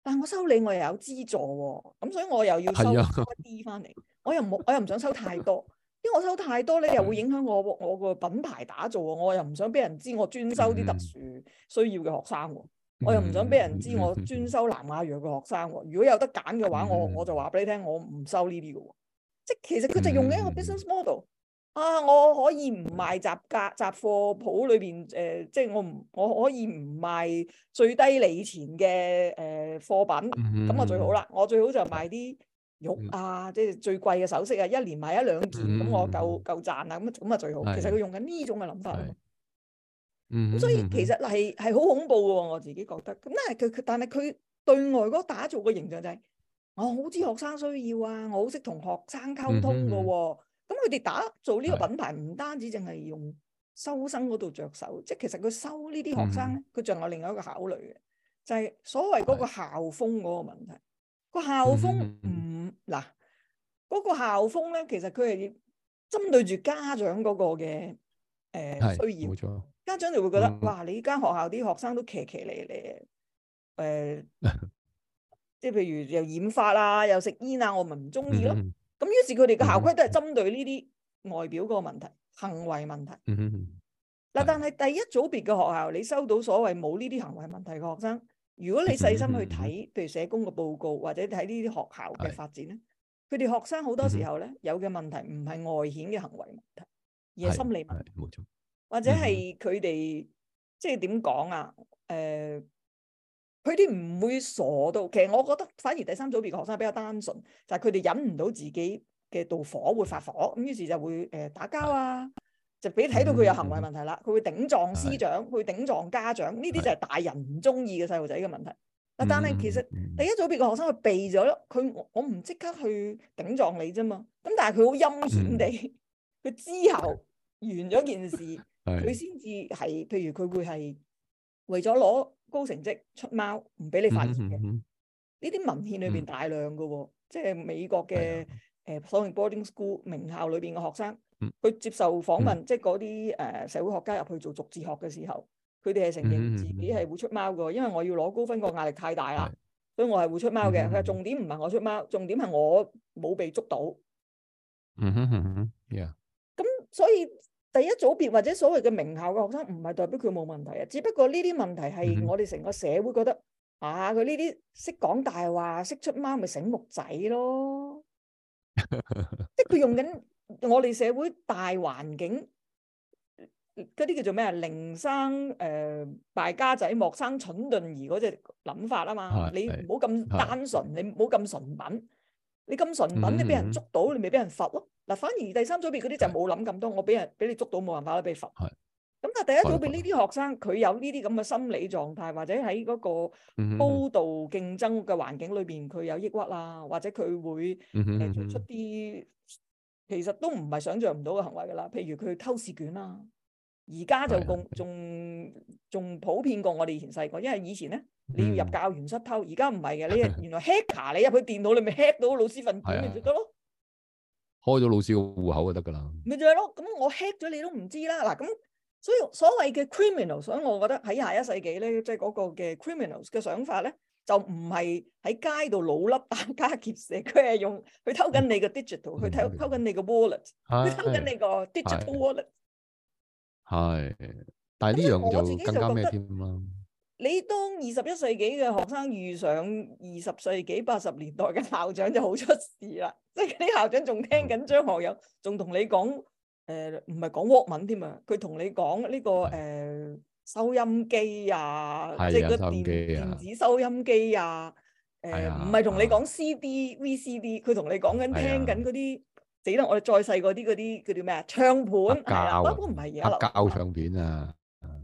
但係我收你我又有資助喎，咁所以我又要收多一啲翻嚟，我又冇我又唔想收太多，因為我收太多咧又會影響我我個品牌打造喎，我又唔想俾人知我專收啲特殊需要嘅學生喎，我又唔想俾人知我專收南亞裔嘅學生喎。如果有得揀嘅話，我我就話俾你聽，我唔收呢啲嘅喎。即係其實佢就用緊一個 business model。啊！我可以唔賣雜價雜貨鋪裏邊誒，即係我唔我可以唔賣最低利錢嘅誒、呃、貨品，咁啊、嗯、最好啦！我最好就賣啲玉啊，嗯、即係最貴嘅首飾啊，一年賣一兩件，咁、嗯、我夠夠賺啦，咁咁啊最好。其實佢用緊呢種嘅諗法咯。咁、嗯、所以其實係係好恐怖嘅喎，我自己覺得。咁但係佢但係佢對外嗰打造嘅形象就係、是、我好知學生需要啊，我好識同學生溝通嘅喎。嗯嗯咁佢哋打造呢個品牌唔單止淨係用收生嗰度着手，即係其實佢收呢啲學生咧，佢仲、嗯、有另外一個考慮嘅，就係、是、所謂嗰個校風嗰個問題。個校風唔嗱嗰個校風咧，其實佢係針對住家長嗰個嘅誒、呃、需要。冇錯。家長就會覺得、嗯、哇，你間學校啲學生都騎騎嚟嚟誒，即係譬如又染髮啊，又食煙啊，我咪唔中意咯。嗯咁於是佢哋嘅校規都係針對呢啲外表嗰個問題、行為問題。嗱、嗯哼，但係第一組別嘅學校，你收到所謂冇呢啲行為問題嘅學生，如果你細心去睇，嗯、譬如社工嘅報告或者睇呢啲學校嘅發展咧，佢哋學生好多時候咧、嗯、有嘅問題唔係外顯嘅行為問題，而係心理問題。冇錯。或者係佢哋即係點講啊？誒、呃。佢哋唔會傻到，其實我覺得反而第三組別嘅學生比較單純，就係佢哋忍唔到自己嘅妒火會發火，咁於是就會誒、呃、打交啊，就俾你睇到佢有行為問題啦，佢會頂撞師長，佢會頂撞家長，呢啲就係大人唔中意嘅細路仔嘅問題。但係其實第一組別嘅學生佢避咗，佢我唔即刻去頂撞你啫嘛，咁但係佢好陰險地，佢之後完咗件事，佢先至係，譬如佢會係為咗攞高成績出貓，唔俾你發現嘅。呢啲、嗯、文獻裏邊大量嘅喎、哦，嗯、即係美國嘅誒所謂 boarding school 名校裏邊嘅學生，佢、嗯、接受訪問，嗯、即係嗰啲誒社會學家入去做逐字學嘅時候，佢哋係承認自己係會出貓嘅，因為我要攞高分個壓力太大啦，嗯、所以我係會出貓嘅。佢話、嗯、重點唔係我出貓，重點係我冇被捉到。嗯哼哼哼，咁所以。第一組別或者所謂嘅名校嘅學生，唔係代表佢冇問題啊，只不過呢啲問題係我哋成個社會覺得、嗯、啊，佢呢啲識講大話、識出貓咪醒目仔咯，即係佢用緊我哋社會大環境嗰啲叫做咩啊？寧生誒、呃、敗家仔，莫生蠢鈍兒嗰隻諗法啊嘛，是你唔好咁單純，是你唔好咁純品。你咁純品，你俾人捉到，你咪俾人罰咯。嗱，反而第三組別嗰啲就冇諗咁多，我俾人俾你捉到冇辦法啦，俾罰。係。咁但係第一組別呢啲學生，佢有呢啲咁嘅心理狀態，或者喺嗰個高度競爭嘅環境裏邊，佢有抑鬱啦，或者佢會誒做出啲其實都唔係想象唔到嘅行為㗎啦。譬如佢偷試卷啦，而家就仲仲仲普遍過我哋以前細個，因為以前咧。你要入教員室偷，而家唔係嘅，你原來 hacker 你入去電腦，你咪 hack 到老師份卷咪就得咯。開咗老師個戶口就得噶啦。咪就係咯，咁我 hack 咗你都唔知啦。嗱，咁所以所謂嘅 criminal，所以我覺得喺廿一世紀咧，即係嗰個嘅 criminals 嘅想法咧，就唔係喺街度老笠打家劫舍，佢係用去偷緊你個 digital，去偷偷緊你個 wallet，去偷緊你個 digital wallet。係，但係呢樣就更加咩添啦。你當二十一世紀嘅學生遇上二十世紀八十年代嘅校長就好出事啦，即係啲校長仲聽緊張學友，仲同你講誒唔係講 Walkman 添啊，佢同你講呢、這個誒、呃、收音機啊，即係個電電子收音機啊，誒唔係同你講 C D、V C D，佢同你講緊聽緊嗰啲，死啦！我哋再細個啲嗰啲叫做咩啊？唱片係啦，不過唔係而家膠唱片啊。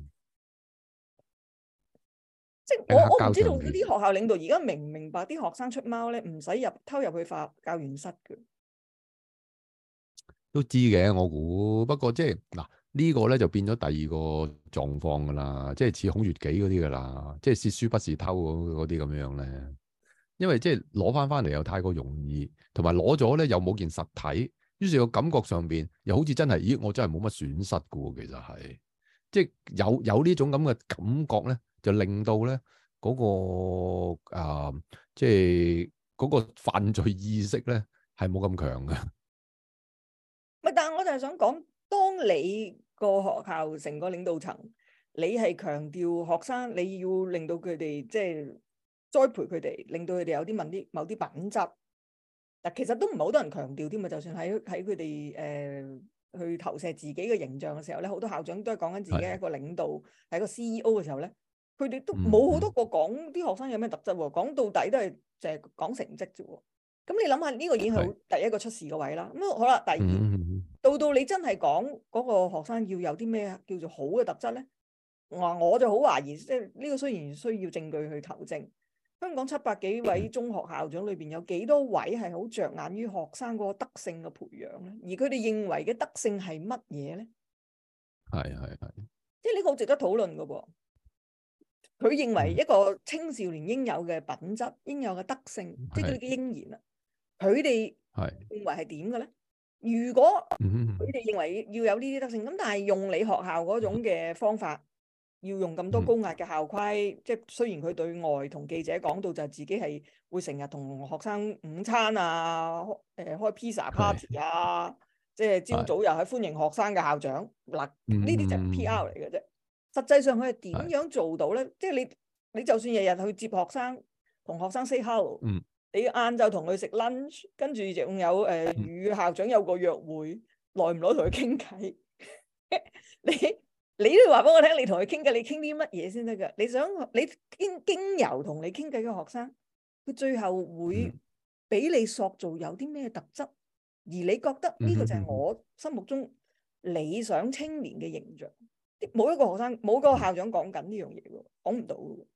即係我我唔知道嗰啲學校領導而家明唔明白啲學生出貓咧，唔使入偷入去發教員室嘅，都知嘅我估。不過即係嗱呢個咧就變咗第二個狀況噶啦，即係似孔乙己嗰啲噶啦，即係竊書不是偷嗰啲咁樣咧。因為即係攞翻翻嚟又太過容易，同埋攞咗咧又冇件實體，於是個感覺上邊又好似真係，咦我真係冇乜損失噶喎。其實係即係有有呢種咁嘅感覺咧。就令到咧， 嗰、嗰個啊，即係嗰個犯罪意識咧，係冇咁強嘅。 唔係，但係我就係想講，當你個學校成個領導層，你係強調學生，你要令到佢哋即係栽培佢哋，令到佢哋有啲問啲某啲品質。但其實都唔係好多人強調添啊！就算喺喺佢哋誒去投射自己嘅形象嘅時候咧，好多校長都係講緊自己係一個領導，係的一個 C E O 嘅時候咧，佢哋都冇好多個講啲學生有咩特質喎。講到底都係就係講成績啫喎。咁你諗下呢個已經係第一個出事嘅位啦。咁的好啦，第二、嗯、到到你真係講嗰個學生要有啲咩叫做好嘅特質咧，我我就好懷疑，即係呢個雖然需要證據去求證。香港七百幾位中學校長裏邊有幾多位係好着眼於學生嗰個德性嘅培養咧？而佢哋認為嘅德性係乜嘢咧？ 係係係， 即係呢個好值得討論㗎噃。佢認為一個青少年應有嘅品質、應有嘅德性，嗯、即係佢哋嘅應然啦。佢哋係認為係點嘅咧？如果佢哋認為要有呢啲德性，咁但係用你學校嗰種嘅方法。要用咁多高壓嘅校規，嗯、即係雖然佢對外同記者講到就係自己係會成日同學生午餐啊，誒、呃、開 pizza party 啊，是即係朝早又係歡迎學生嘅校長，嗱呢啲就係 P R 嚟嘅啫。實際上佢係點樣做到咧？是即係你你就算日日去接學生，同學生 say hello，嗯、你晏晝同佢食 lunch，跟住仲有誒與、呃、校長有個約會，耐唔耐同佢傾偈？你？你都要話俾我聽，你同佢傾偈，你傾啲乜嘢先得噶？你想你經經由同你傾偈嘅學生，佢最後會俾你塑造有啲咩特質？而你覺得呢個就係我心目中理想青年嘅形象？冇一個學生，冇個校長講緊呢樣嘢喎，講唔到。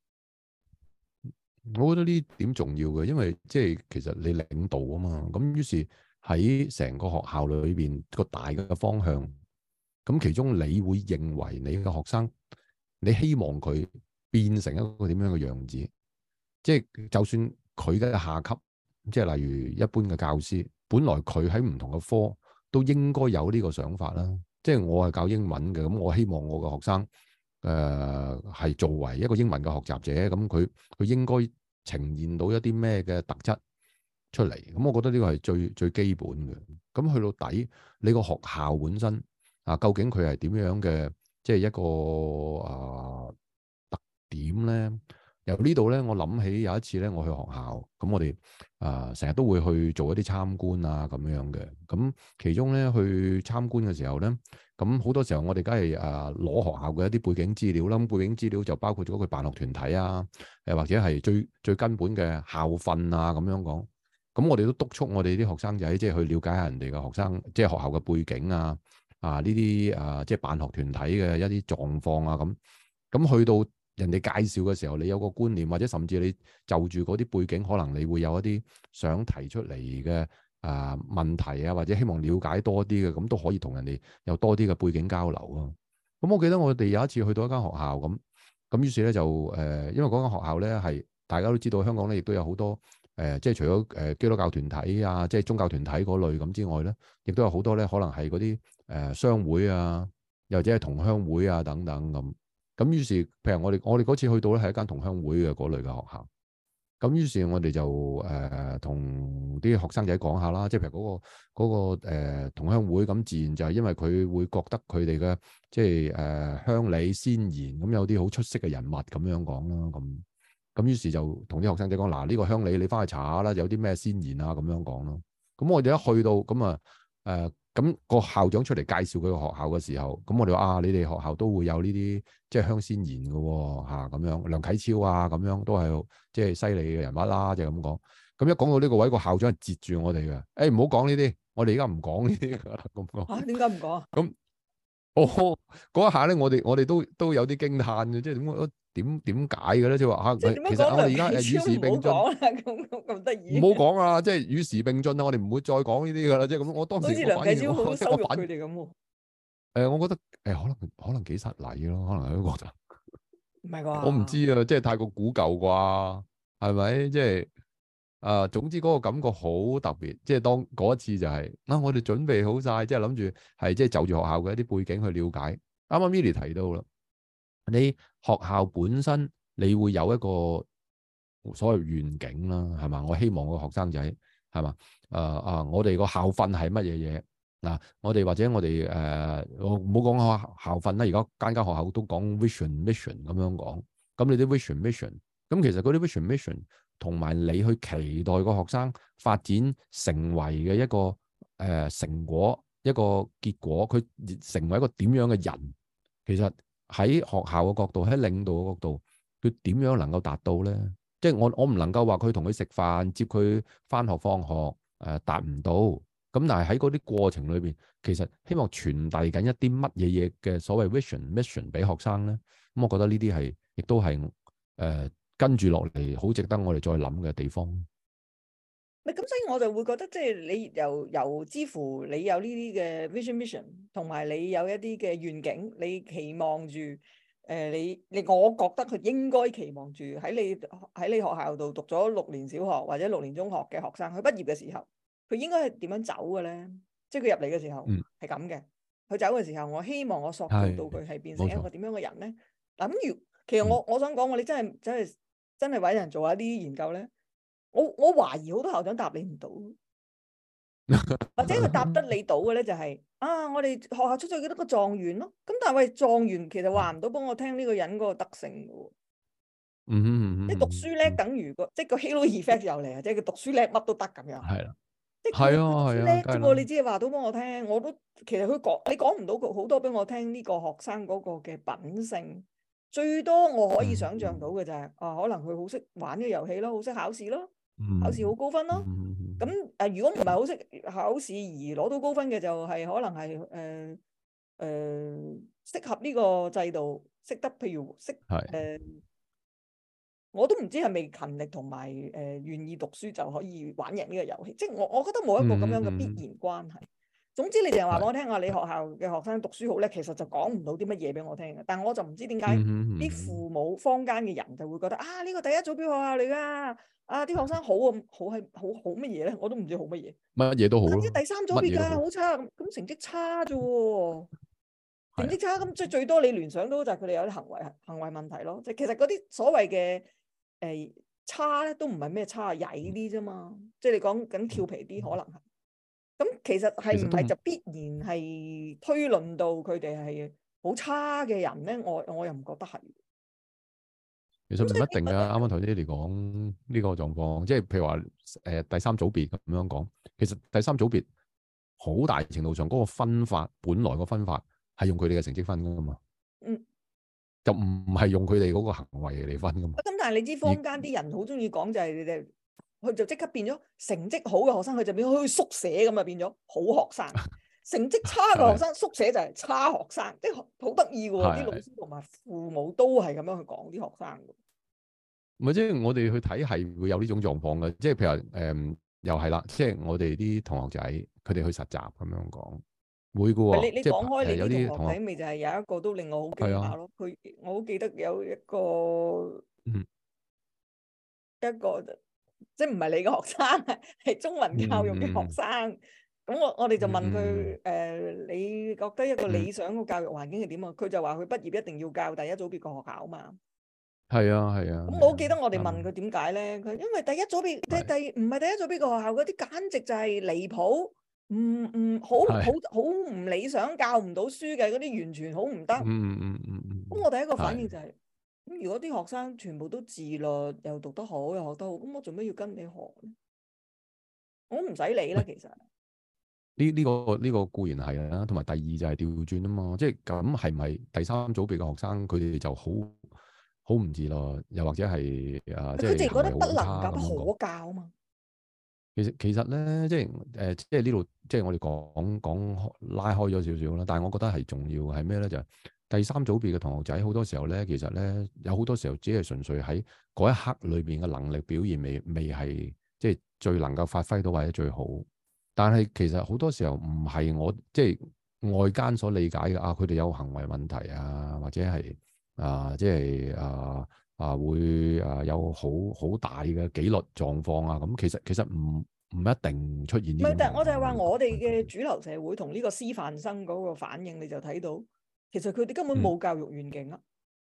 我覺得呢點重要嘅，因為即係其實你領導啊嘛，咁於是喺成個學校裏邊個大嘅方向。咁其中你會認為你嘅學生，你希望佢變成一個點樣嘅樣子？即係就算佢嘅下級，即係例如一般嘅教師，本來佢喺唔同嘅科都應該有呢個想法啦。即係我係教英文嘅，咁我希望我嘅學生誒係、呃、作為一個英文嘅學習者，咁佢佢應該呈現到一啲咩嘅特質出嚟？咁我覺得呢個係最最基本嘅。咁去到底，你個學校本身。啊，究竟佢係點樣嘅，即係一個啊、呃、特點咧？由呢度咧，我諗起有一次咧，我去學校，咁我哋啊成日都會去做一啲參觀啊咁樣嘅。咁其中咧去參觀嘅時候咧，咁好多時候我哋梗係啊攞學校嘅一啲背景資料啦。咁背景資料就包括咗佢辦學團體啊，誒或者係最最根本嘅校訓啊咁樣講。咁我哋都督促我哋啲學生仔即係去了解下人哋嘅學生，即係學校嘅背景啊。啊！呢啲啊，即係辦學團體嘅一啲狀況啊，咁咁去到人哋介紹嘅時候，你有個觀念，或者甚至你就住嗰啲背景，可能你會有一啲想提出嚟嘅啊問題啊，或者希望了解多啲嘅，咁都可以同人哋有多啲嘅背景交流咯。咁我記得我哋有一次去到一間學校咁，咁於是咧就誒、呃，因為嗰間學校咧係大家都知道，香港咧亦都有好多誒、呃，即係除咗誒基督教團體啊，即係宗教團體嗰類咁之外咧，亦都有好多咧，可能係嗰啲。誒、呃、商會啊，又或者係同鄉會啊等等咁，咁於是譬如我哋我哋嗰次去到咧係一間同鄉會嘅嗰類嘅學校，咁於是我哋就誒同啲學生仔講下啦，即係譬如嗰、嗰個嗰、嗰個呃、同鄉會，咁自然就係因為佢會覺得佢哋嘅即係誒、呃、鄉里先賢，咁有啲好出色嘅人物咁樣講啦，咁咁於是就同啲學生仔講嗱，呢、呢個鄉里你翻去查下啦，有啲咩先賢啊咁樣講咯，咁我哋一去到咁啊誒。呃咁個校長出嚟介紹佢個學校嘅時候，咁我哋話啊，你哋學校都會有呢啲即係鄉先賢嘅喎，嚇咁樣，梁啟超啊咁樣都係即係犀利嘅人物啦，就係咁講。咁一講到呢個位，個校長係截住我哋嘅，誒唔好講呢啲，我哋而家唔講呢啲㗎啦，咁講。嚇點解唔講啊？咁哦嗰一下咧，我哋我哋都都有啲驚歎嘅，即係點解？點點解嘅咧？即係話嚇，其實我哋而家誒與時並進， 咁咁得意。 唔好講啊！即係與時並進啊！我哋唔會再講呢啲噶啦。即係咁，我當時好似梁啟超好羞辱佢哋咁喎。 誒，我覺得誒，可能可能幾失禮咯，可能喺嗰度。 唔係啩？ 我唔知啊，即係太過古舊啩，係咪？即係啊，總之嗰個感覺好特別。即係當嗰一次就係啊，我哋準備好晒，即係諗住係即係就住學校嘅一啲背景去了解。啱啱 Milly 提到啦。你學校本身， 你會有一個所謂願景啦，係嘛？我希望個學生仔係嘛？誒啊！我哋個校訓係乜嘢嘢嗱？我哋或者我哋誒，我唔好講校校訓啦。而家間間學校都講 vision mission 咁樣講。咁你啲 vision mission，咁其實嗰啲 vision mission 同埋你去期待個學生發展成為嘅一個誒、呃、成果，一個結果，佢成為一個點樣嘅人，其實喺學校嘅角度，喺領導嘅角度，佢點樣能夠達到咧？即係我我唔能夠話佢同佢食飯、接佢返學放學誒、呃、達唔到。咁但係喺嗰啲過程裏邊，其實希望傳遞緊一啲乜嘢嘢嘅所謂 vision mission 俾學生咧。咁我覺得呢啲係亦都係誒、呃、跟住落嚟好值得我哋再諗嘅地方。 咪咁，所以我就會覺得即係你由由之乎你有呢啲嘅 vision mission，同埋你有一啲嘅願景，你期望住。誒、呃、你你我覺得佢應該期望住喺你喺你學校度讀咗六年小學或者六年中學嘅學生，佢畢業嘅時候，佢應該係點樣走嘅咧？即係佢入嚟嘅時候係咁嘅，佢、嗯、走嘅時候，我希望我塑造到佢係變成一個點樣嘅人咧？嗱咁如其實我、嗯、我想講，我哋真係真係真係揾人做一啲研究咧，我我懷疑好多校長答你唔到。或者佢答得你到嘅咧，就係、是、啊，我哋學校出咗幾多個狀元咯。咁但係喂，狀元其實話唔到幫我聽呢個人嗰個德性嘅。 嗯嗯嗯， 即係讀書叻等於個，即係個 halo effect 又嚟啊！即係佢讀書叻乜都得咁樣。係啦，即係佢讀書叻啫噃，你只係話到幫我聽，我都其實佢講你講唔到佢好多俾我聽呢個學生嗰個嘅品性。最多我可以想象到嘅就係、是嗯、啊，可能佢好識玩呢個遊戲咯，好識考試咯。考試好高分咯，咁誒、呃、如果唔係好識考試而攞到高分嘅，就係可能係誒誒適合呢個制度，識得譬如識誒、呃，我都唔知係咪勤力同埋誒願意讀書就可以玩贏呢個遊戲，即係我我覺得冇一個咁樣嘅必然關係。嗯嗯、總之你淨係話俾我聽話，你學校嘅學生讀書好叻，其實就講唔到啲乜嘢俾我聽嘅。但係我就唔知點解啲父母坊間嘅人就會覺得啊，呢個第一組別學校嚟㗎。啊！啲學生好啊，好係好好乜嘢咧？我都唔知好乜嘢。乜嘢都好咯。第三組別㗎，好差咁，咁成績差啫喎。成績差咁，即係最多你聯想到就係佢哋有啲行為行為問題咯。即係其實嗰啲所謂嘅誒差咧，都唔係咩差，曳啲啫嘛。即係你講緊調皮啲，可能係。咁其實係唔係就必然係推論到佢哋係好差嘅人咧？我我又唔覺得係。 其實唔一定㗎，啱啱頭先你講呢個狀況，即係譬如話誒、呃、第三組別咁樣講，其實第三組別好大程度上嗰個分法，本來個分法係用佢哋嘅成績分㗎嘛，嗯，就唔係用佢哋嗰個行為嚟分㗎嘛。咁但係你知坊間啲人好中意講就係你哋，佢就即刻變咗成績好嘅學生，佢就變咗好似宿舍咁啊，變咗好學生。成績差嘅學生，宿舍就係差學生，即係好得意嘅喎。啲老師同埋父母都係咁樣去講啲學生嘅。唔係，即係我哋去睇係會有呢種狀況嘅，即係譬如誒、呃，又係啦，即係我哋啲同學仔佢哋去實習咁樣講，會嘅喎。你你講開你啲同學仔，咪就係有一個都令我好驚訝咯。佢、啊、我好記得有一個，嗯、一個即係唔係你嘅學生，係中文教育嘅學生。咁、嗯、我我哋就問佢誒、嗯呃，你覺得一個理想嘅教育環境係點啊？佢、嗯、就話佢畢業一定要教第一組別嘅學校嘛。係啊係啊，咁、啊、我好記得我哋問佢點解咧？佢、嗯、因為第一組別第第唔係第一組別個學校嗰啲簡直就係離譜，唔唔好好好唔理想，教唔到書嘅嗰啲完全好唔得。嗯嗯嗯嗯嗯。咁我第一個反應就係、是，咁如果啲學生全部都自律，又讀得好，又學得好，咁我做咩要跟你學咧？我唔使理啦，其實。呢呢、這個呢、這個固然係啦，同埋第二就係調轉啊嘛，即係咁係咪第三組別嘅學生佢哋就好？好唔自律，又或者係啊，即係佢哋覺得不能夠不可教啊嘛。其實其實咧，即係誒、呃，即係呢度，即係我哋講講拉開咗少少啦。但係我覺得係重要係咩咧？就係、是、第三組別嘅同學仔，好多時候咧，其實咧有好多時候只係純粹喺嗰一刻裏邊嘅能力表現未未係即係最能夠發揮到或者最好。但係其實好多時候唔係我即係外間所理解嘅啊，佢哋有行為問題啊，或者係。啊，即係啊啊，會啊有好好大嘅紀律狀況啊，咁其實其實唔唔一定出現呢種。唔係，但係我就係話我哋嘅主流社會同呢個師範生嗰個反應，你就睇到，其實佢哋根本冇教育願景啊。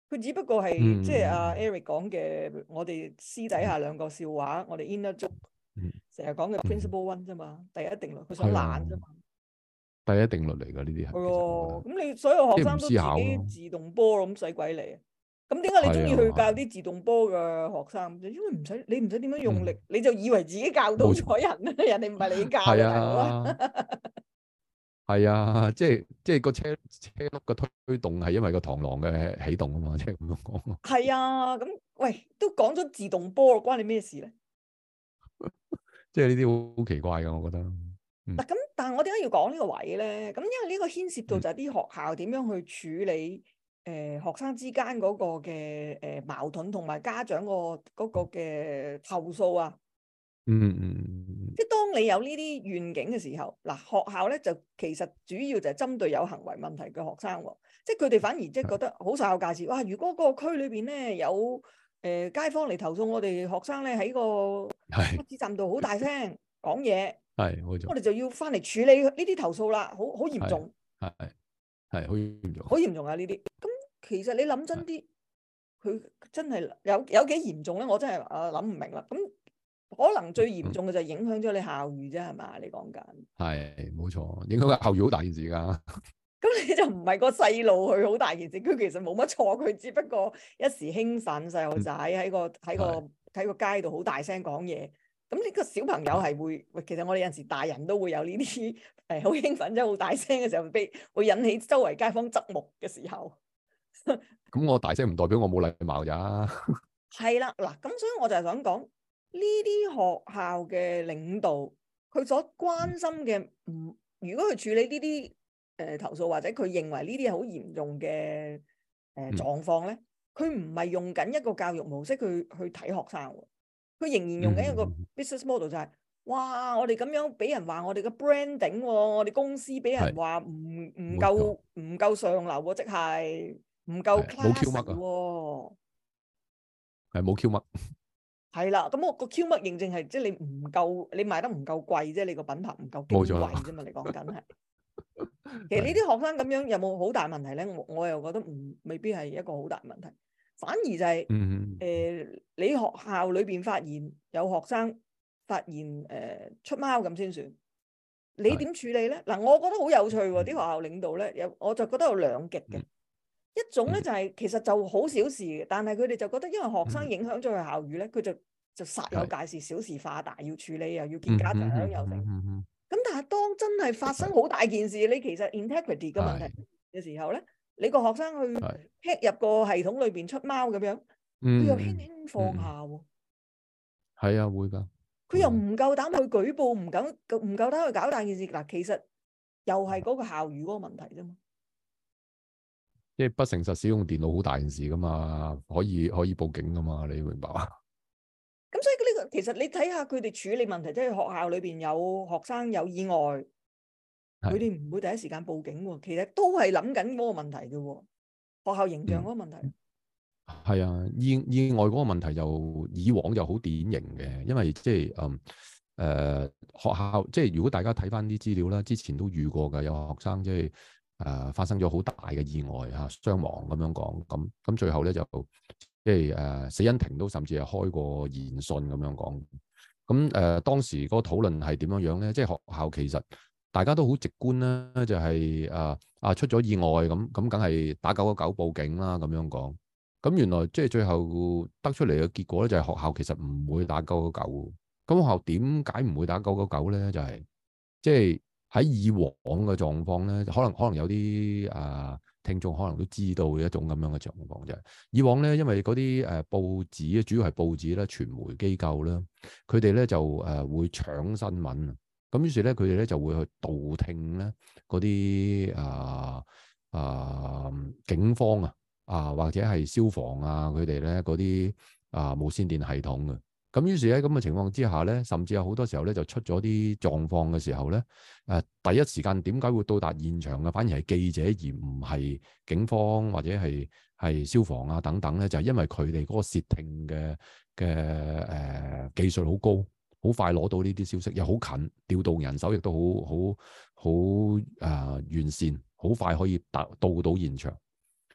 佢只不過係、 嗯、 即係阿 Eric 講嘅，我哋私底下兩個笑話，嗯、我哋 inner joke 成日講嘅 principle one 啫嘛，第一定律，佢想懶啫嘛。 第一定律嚟㗎呢啲係。 係喎，咁你所有學生都自己自動波咁使鬼嚟？咁點解你中意去教啲自動波嘅學生？因為唔使你唔使點樣用力，嗯、你就以為自己教到咗人啊！人哋唔係你教嘅大佬啊！ 係啊，即係即係個車車轆嘅推動係因為個螳螂嘅啟動啊嘛，即係咁樣講。 係啊，咁喂都講咗自動波，關你咩事咧？ 即係呢啲好奇怪㗎，我覺得。嗱、 嗯，咁但係我點解要講呢個位咧？咁因為呢個牽涉到就係啲學校點樣去處理誒、呃、學生之間嗰個嘅誒、呃、矛盾，同埋家長、嗰個嗰個嘅投訴啊。 嗯嗯。 即係當你有呢啲願景嘅時候，嗱，學校咧就其實主要就係針對有行為問題嘅學生喎，即係佢哋反而即係覺得好受教價值。哇！如果嗰個區裏邊咧有誒、呃、街坊嚟投訴我哋學生咧喺個巴士站度好大聲講嘢，係冇錯，我哋就要翻嚟處理呢啲投訴啦，好好嚴重， 係係好嚴重， 好嚴重啊呢啲。咁其實你諗真啲，佢真係有有幾嚴重咧？我真係啊諗唔明啦。咁可能最嚴重嘅就係影響咗你校譽啫，係嘛？你講緊係冇錯，影響個校譽好大件事噶。 咁你就唔係個細路去好大件事，佢其實冇乜錯，佢只不過一時興奮，細路仔喺個喺個喺個街度好大聲講嘢。咁呢個小朋友係會，喂，其實我哋有陣時大人都會有呢啲誒好興奮，即係好大聲嘅時候，被會引起周圍街坊側目嘅時候。 咁我大聲唔代表我冇禮貌咋。 係啦，嗱，咁所以我就係想講。呢啲學校嘅領導，佢所關心嘅唔，如果佢處理呢啲誒投訴，或者佢認為呢啲係好嚴重嘅誒狀況咧，佢唔係用緊一個教育模式去去睇學生，佢仍然用緊一個 business model，就係、是，哇！我哋咁樣俾人話我哋嘅 branding，我哋公司俾人話唔唔夠唔夠上流喎，即係唔夠 class 喎， 係冇 Q 乜。 係啦，咁我個 Q 乜認證係即係你唔夠，你賣得唔夠貴啫，你個品牌唔夠矜貴啫嘛，你講緊係。其實呢啲學生咁樣有冇好大問題咧？我我又覺得唔未必係一個好大問題，反而就係、是、誒、 嗯呃、你學校裏邊發現有學生發現誒、呃、出貓咁先算，你點處理咧？嗱，我覺得好有趣喎，啲學校領導咧有，我就覺得有兩極嘅。一種咧就係、是、其實就好小事嘅，但係佢哋就覺得因為學生影響咗佢校譽咧，佢就就煞有介事，小事化大，要處理又要見家長又成。咁但係當真係發生好大件事，你其實 integrity 嘅問題嘅時候咧，你個學生去 hack 入個系統裏邊出貓咁樣，佢又輕輕放下喎。 係啊，會㗎。 佢又唔夠膽去舉報，唔敢唔夠膽去搞大件事。嗱，其實又係嗰個校譽嗰個問題啫嘛。 即係不誠實使用電腦好大件事噶嘛，可以可以報警噶嘛，你明白嘛？ 咁所以呢個其實你睇下佢哋處理問題，即係學校裏邊有學生有意外，佢哋唔會第一時間報警喎。其實都係諗緊嗰個問題嘅喎，學校形象嗰個問題。 係、嗯、啊，意意外嗰個問題就以往就好典型嘅，因為即係嗯誒、呃、學校即係如果大家睇翻啲資料啦，之前都遇過㗎，有學生即係。誒、呃、發生咗好大嘅意外嚇，傷亡咁樣講，咁咁最後咧就即係誒死因庭都甚至係開過言訊咁樣講，咁誒、呃、當時嗰個討論係點樣樣咧？即係學校其實大家都好直觀啦，就係、是、誒啊，啊出咗意外咁咁，梗係打九一九報警啦咁樣講。咁原來即係最後得出嚟嘅結果咧，就係學校其實唔會打九一九。咁學校點解唔會打九一九咧？就係即係。就是喺以往嘅狀況咧，可能可能有啲啊、呃、聽眾可能都知道一種咁樣嘅狀況啫。以往咧，因為嗰啲誒報紙，主要係報紙咧、傳媒機構啦，佢哋咧就誒、呃、會搶新聞，咁於是咧佢哋咧就會去盜聽咧嗰啲啊啊警方啊啊或者係消防啊佢哋咧嗰啲啊無線電系統嘅。咁於是喺咁嘅情況之下咧，甚至有好多時候咧就出咗啲狀況嘅時候咧，誒、呃、第一時間點解會到達現場嘅，反而係記者而唔係警方或者係係消防啊等等咧，就係、是、因為佢哋嗰個竊聽嘅嘅誒技術好高，好快攞到呢啲消息，又好近，調動人手亦都好好好誒完善，好快可以達到到現場。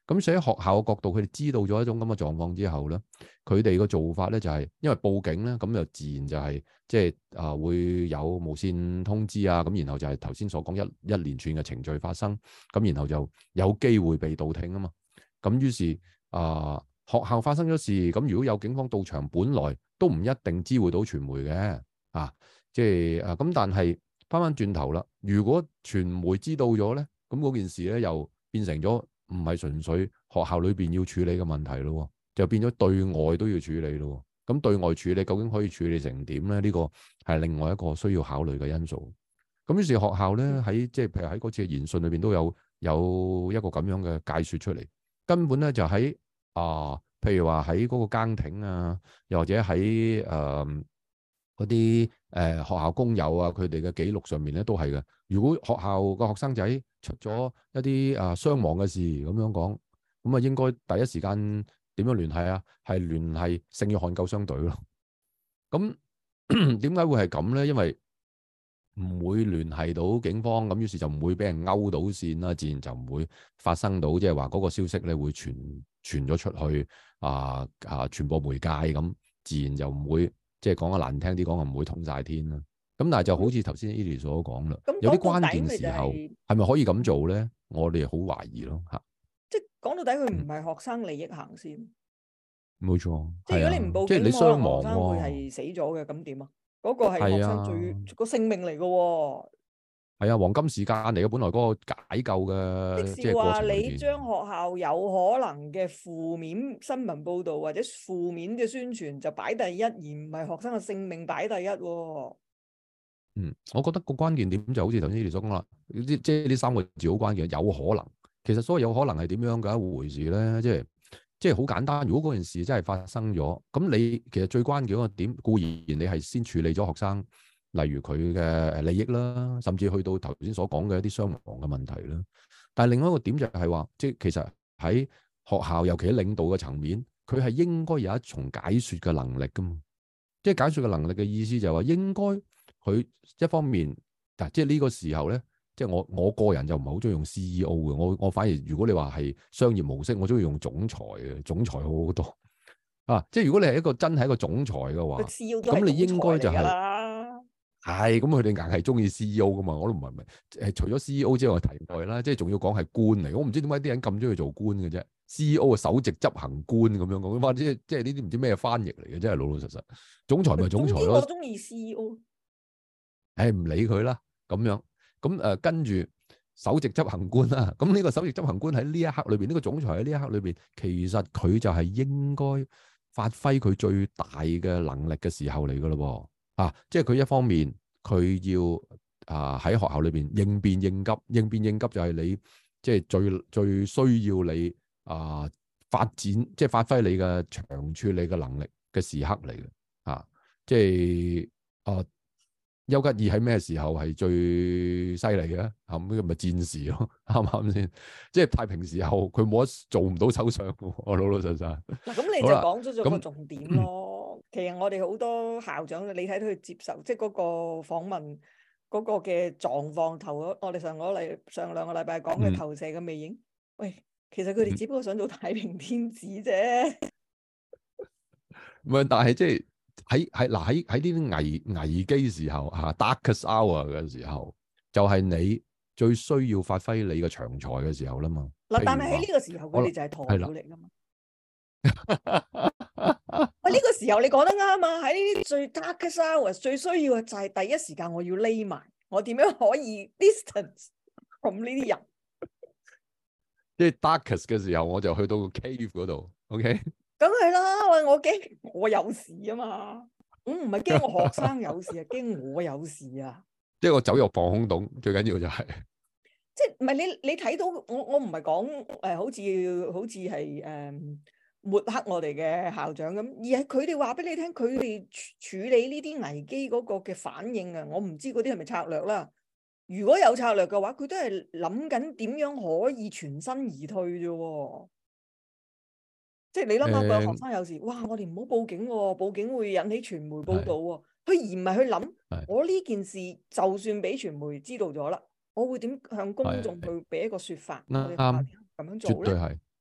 咁所以喺學校嘅角度，佢哋知道咗一種咁嘅狀況之後咧，佢哋個做法咧就係、是、因為報警咧，咁就自然就係即係啊會有無線通知啊，咁然後就係頭先所講一一連串嘅程序發生，咁然後就有機會被盜聽啊嘛。咁於是啊、呃、學校發生咗事，咁如果有警方到場，本來都唔一定知會到傳媒嘅啊，即係啊咁，但係翻翻轉頭啦，如果傳媒知道咗咧，咁嗰件事咧又變成咗。唔係純粹學校裏邊要處理嘅問題咯，就變咗對外都要處理咯。咁對外處理究竟可以處理成點咧？呢個係另外一個需要考慮嘅因素。咁於是學校咧喺即係譬如喺嗰次嘅研訊裏邊都有有一個咁樣嘅解說出嚟，根本咧就喺啊、呃，譬如話喺嗰個更亭啊，又或者喺誒嗰啲誒學校工友啊，佢哋嘅記錄上面咧都係嘅。如果學校個學生仔出咗一啲啊傷亡嘅事咁樣講，咁啊應該第一時間點樣聯繫啊？係聯繫聖約翰救傷隊咯。咁點解會係咁咧？因為唔會聯繫到警方，咁於是就唔會俾人勾到線啦，自然就唔會發生到即係話嗰個消息咧會傳傳咗出去啊啊傳播媒介咁，自然就唔會即係講得難聽啲講，唔會通晒天啦。咁但係就好似頭先 Edie 所講啦，有啲關鍵時候係咪可以咁做咧？我哋好懷疑咯嚇。 即係講到底，佢唔係學生利益行先。 冇錯。 即係如果你唔報警， 即係你傷亡， 學生會係死咗嘅，咁點啊？嗰個係學生最個性命嚟嘅喎。係啊，黃金時間嚟嘅，本來嗰個解救嘅。 即係話你將學校有可能嘅負面新聞報導或者負面嘅宣傳就擺第一，而唔係學生嘅性命擺第一喎。 嗯，我覺得個關鍵點就好似頭先你所講啦，即係呢三個字好關鍵，有可能。其實所謂有可能係點樣嘅一回事咧？即係即係好簡單。如果嗰件事真係發生咗，咁你其實最關鍵嗰個點固然你係先處理咗學生，例如佢嘅利益啦，甚至去到頭先所講嘅一啲傷亡嘅問題啦。但係另外一個點就係話，即係其實喺學校，尤其喺領導嘅層面，佢係應該有一重解說嘅能力噶嘛。即係解說嘅能力嘅意思就係話應該。佢一方面，嗱，即係呢個時候咧，即係我我個人就唔係好中意用 C E O 嘅，我我反而如果你話係商業模式，我中意用總裁嘅，總裁好好多啊！即係如果你係一個真係一個總裁嘅話，咁你應該就係係咁，佢哋硬係中意 C E O 噶嘛？我都唔係唔係誒，除咗 C E O 之外題外啦，即係仲要講係官嚟，我唔知點解啲人咁中意做官嘅啫。C E O 嘅首席執行官咁樣講，哇！即係即係呢啲唔知咩翻譯嚟嘅，真係老老實實。總裁咪總裁咯。 我中意 C E O。 誒唔理佢啦，咁樣咁誒跟住首席執行官啦，咁呢個首席執行官喺呢一刻裏邊，呢、呢個總裁喺呢一刻裏邊，其實佢就係應該發揮佢最大嘅能力嘅時候嚟噶咯喎，啊，即係佢一方面佢要啊喺學校裏邊應變應急，應變應急就係你即係最最需要你啊發展，即係發揮你嘅長處、你嘅能力嘅時刻嚟嘅，啊，即係啊。丘吉爾喺咩時候係最犀利嘅？咁呢個咪戰士咯，啱唔啱先？即係太平時候佢冇得做唔到首相嘅，我老老實實。嗱， 咁你就講咗咗個重點咯。其實我哋好多校長，你睇到佢接受即係嗰個訪問嗰個嘅狀況，投咗我哋上個禮上兩個禮拜講嘅投射嘅魅影。嗯、喂，其實佢哋只不過想做太平天子啫。 唔係，但係即係。喺喺嗱喺喺呢啲危危機時候吓 darkest hour 嘅時候，就係、是、你最需要發揮你嘅長才嘅時候啦嘛。 嗱，但係喺呢個時候，佢哋就係鴕鳥嚟噶嘛。喂，呢、這個時候你講得啱啊！喺呢啲最 darkest hour 最需要嘅就係第一時間我要匿埋，我點樣可以 distance from 呢啲人？ 即係 darkest 嘅時候，我就去到個 cave 嗰度。OK。 梗係啦，喂！我驚我有事啊嘛，我唔係驚我學生有事啊，驚我有事啊。 即係我走入防空洞，最緊要就係、是， 即係唔係你你睇到我我唔係講誒，好似好似係誒抹黑我哋嘅校長咁，而係佢哋話俾你聽，佢哋處理呢啲危機嗰個嘅反應啊，我唔知嗰啲係咪策略啦。如果有策略嘅話，佢都係諗緊點樣可以全身而退啫。即係你諗下個學生有事，嗯、哇！我哋唔好報警喎、哦，報警會引起傳媒報導喎、哦。佢而唔係去諗，我呢件事就算俾傳媒知道咗啦，我會點向公眾去俾一個説法？我哋咁樣做咧？絕對係，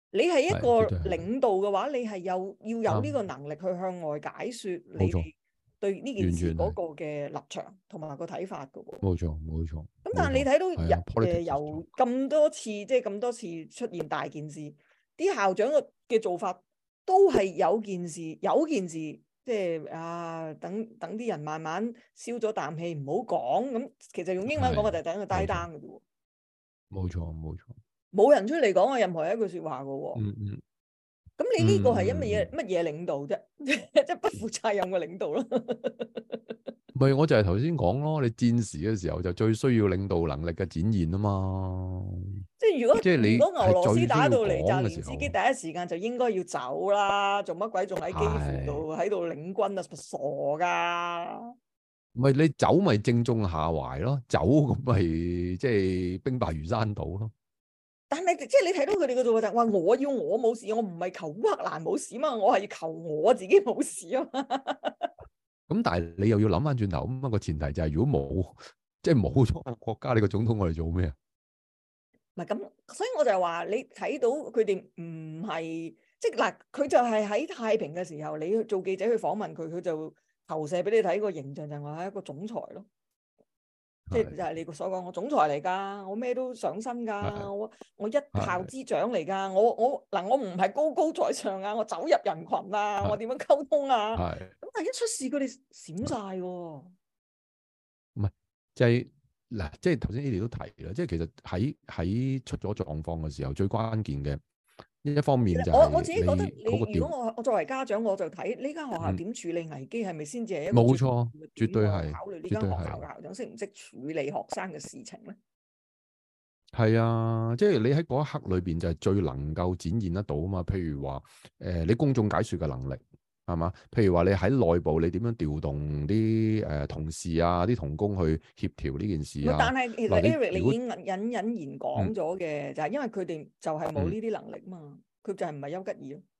你係一個絕對係領導嘅話，你係有要有呢啱， 個能力去向外解説你冇錯， 哋對呢件完全係事嗰個嘅立場同埋個睇法嘅喎。 冇錯冇錯咁但冇錯， 係你睇到係啊日誒 ，politics 由咁多次即係咁多次出現大件事，啲校長嘅嘅做法都係有件事有件事，即係啊等等啲人慢慢消咗啖氣，唔好講咁。其實用英文講嘅就係等佢 die down 嘅啫喎。 冇錯冇錯， 冇人出嚟講過任何一句説話嘅喎。 嗯嗯。 咁你呢個係因乜嗯嘢乜嘢領導啫？即係不負責任嘅領導咯。 唔係，我就係頭先講咯，你戰時嘅時候就最需要領導能力嘅展現啊嘛。 即係如果即係你如果俄羅斯打到嚟， 係最需要講嘅澤連斯時候基第一時間就應該要走啦，做乜鬼仲喺基輔度喺度領軍啊？傻㗎！ 唔係你走咪正中下懷咯，走咁咪即係兵敗如山倒咯。 但係即係你睇到佢哋嘅做法就係話，我要我冇事，我唔係求烏克蘭冇事嘛，我係要求我自己冇事啊嘛。 咁但係你又要諗翻轉頭，咁、那、啊個前提就係如果冇即係冇咗個國家，你個總統我哋做咩啊？ 唔係咁，所以我就係話你睇到佢哋唔係即係嗱，佢就係喺太平嘅時候，你去做記者去訪問佢，佢就投射俾你睇個形象就係我係一個總裁咯。即係就係你所講，我總裁嚟㗎，我咩都上身㗎，我我一校之長嚟㗎，我我嗱我唔係高高在上啊，我走入人群啊，我點樣溝通啊？咁但係一出事佢哋閃晒喎。 唔係就係、是、嗱，即係頭先 Eddie 都提啦，即係其實喺喺出咗狀況嘅時候，最關鍵嘅一方面就係我我自己覺得你， 你如果我我作為家長，我就睇呢間學校點處理危機，係咪先至係一個冇錯，絕對係考慮呢間學校嘅校長識唔識處理學生嘅事情咧？ 係啊，即係你喺嗰一刻裏邊就係最能夠展現得到啊嘛。譬如話誒、呃，你公眾解說嘅能力係嘛？譬如話你喺內部你點樣調動啲誒、呃、同事啊、啲同工去協調呢件事啊？ 但係其實 Eric 你， 你已經隱隱然講咗嘅，嗯、就係因為佢哋就係冇呢啲能力嘛，佢、嗯、就係唔係丘吉爾咯。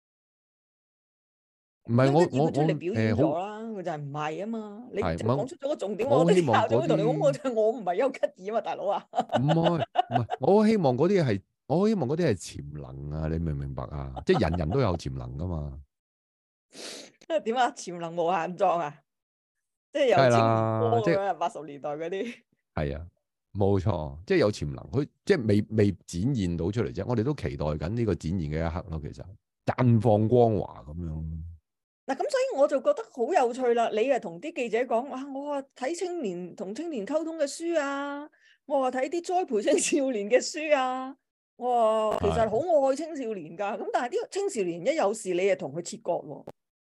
唔係我我我出嚟表現咗啦，佢、 呃、 就係唔係啊嘛。你係就講出咗個重點， 我我啲希望嗰校長同你講，我啲就我唔係丘吉爾啊嘛，大佬啊。 唔係唔係，我希望嗰啲係我希望嗰啲係潛能啊！你明唔明白啊？即係人人都有潛能噶嘛。 點啊？潛能無限壯啊！即係有潛能波咁樣，八十年代嗰啲。係啊，冇錯，即係有潛能，佢即係未未展現到出嚟啫。我哋都期待緊呢個展現嘅一刻咯。其實綻放光華咁樣。 嗱，咁所以我就覺得好有趣啦。你啊同啲記者講，哇！我話睇青年同青年溝通嘅書啊，我話睇啲栽培青少年嘅書啊，我話其實好愛青少年噶。咁但係啲青少年一有事，你啊同佢切割喎。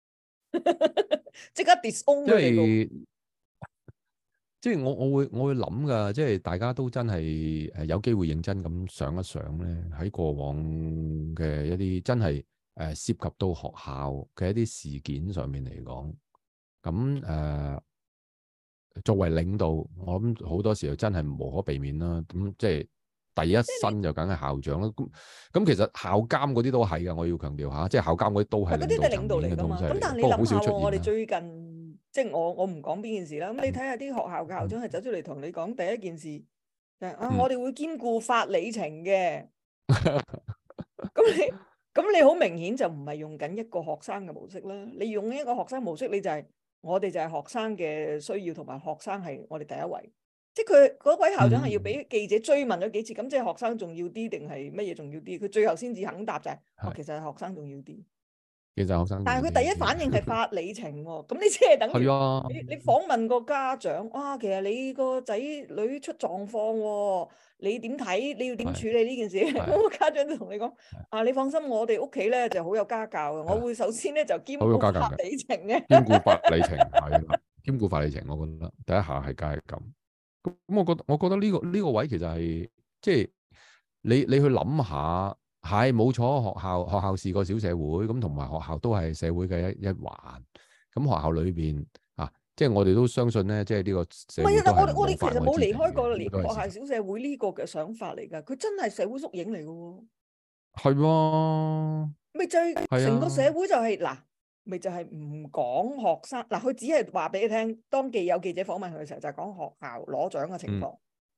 即刻 disown 佢哋喎， 即係我我會我會諗噶，即係大家都真係誒有機會認真咁想一想咧，喺過往嘅一啲真係誒涉及到學校嘅一啲事件上面嚟講，咁誒、呃、作為領導，我諗好多時候真係無可避免啦。咁即係第一身就梗係校長啦。咁咁其實校監嗰啲都係噶，我要強調下，即係校監嗰啲都係領導層面嘅東西嚟。 咁但係你諗下喎，我哋最近即係我我唔講邊件事啦。咁你睇下啲學校嘅校長係走出嚟同你講第一件事就係、嗯、啊，我哋會兼顧法理情嘅。咁你咁你好明顯就唔係用緊一個學生嘅模式啦。你用一個學生模式，你就係、是、我哋就係學生嘅需要，同埋學生係我哋第一位。即係佢嗰位校長係要俾記者追問咗幾次，咁、嗯、即係學生重要啲定係乜嘢重要啲？佢最後先至肯答就係、是，哦，其實係學生重要啲。 其實學生， 但係佢第一反應係法理情喎，咁你即係等於啊、 你你訪問個家長，哇，其實你個仔女出狀況喎，你點睇？你要點處理呢件事？咁個家長就同你講，啊，你放心，我哋屋企咧就好有家教嘅，我會首先咧就兼顧法理情嘅， 兼顧法理情係啦，兼顧法理情，我覺得第一下係梗係咁。咁我覺得我覺得呢個呢個位其實係即係你你去諗下。係冇錯，學校學校是個小社會，咁同埋學校都係社會嘅一一環。咁學校裏邊啊，即係我哋都相信咧，即係呢個社會都係冇法外之地嘅。唔係啊，我我哋其實冇離開過學校小社會呢個嘅想法嚟㗎。佢真係社會縮影嚟㗎喎。係喎。咪就係成個社會就係嗱，咪就係唔講學生嗱，佢只係話俾你聽，當記有記者訪問佢嘅時候，就係講學校攞獎嘅情況。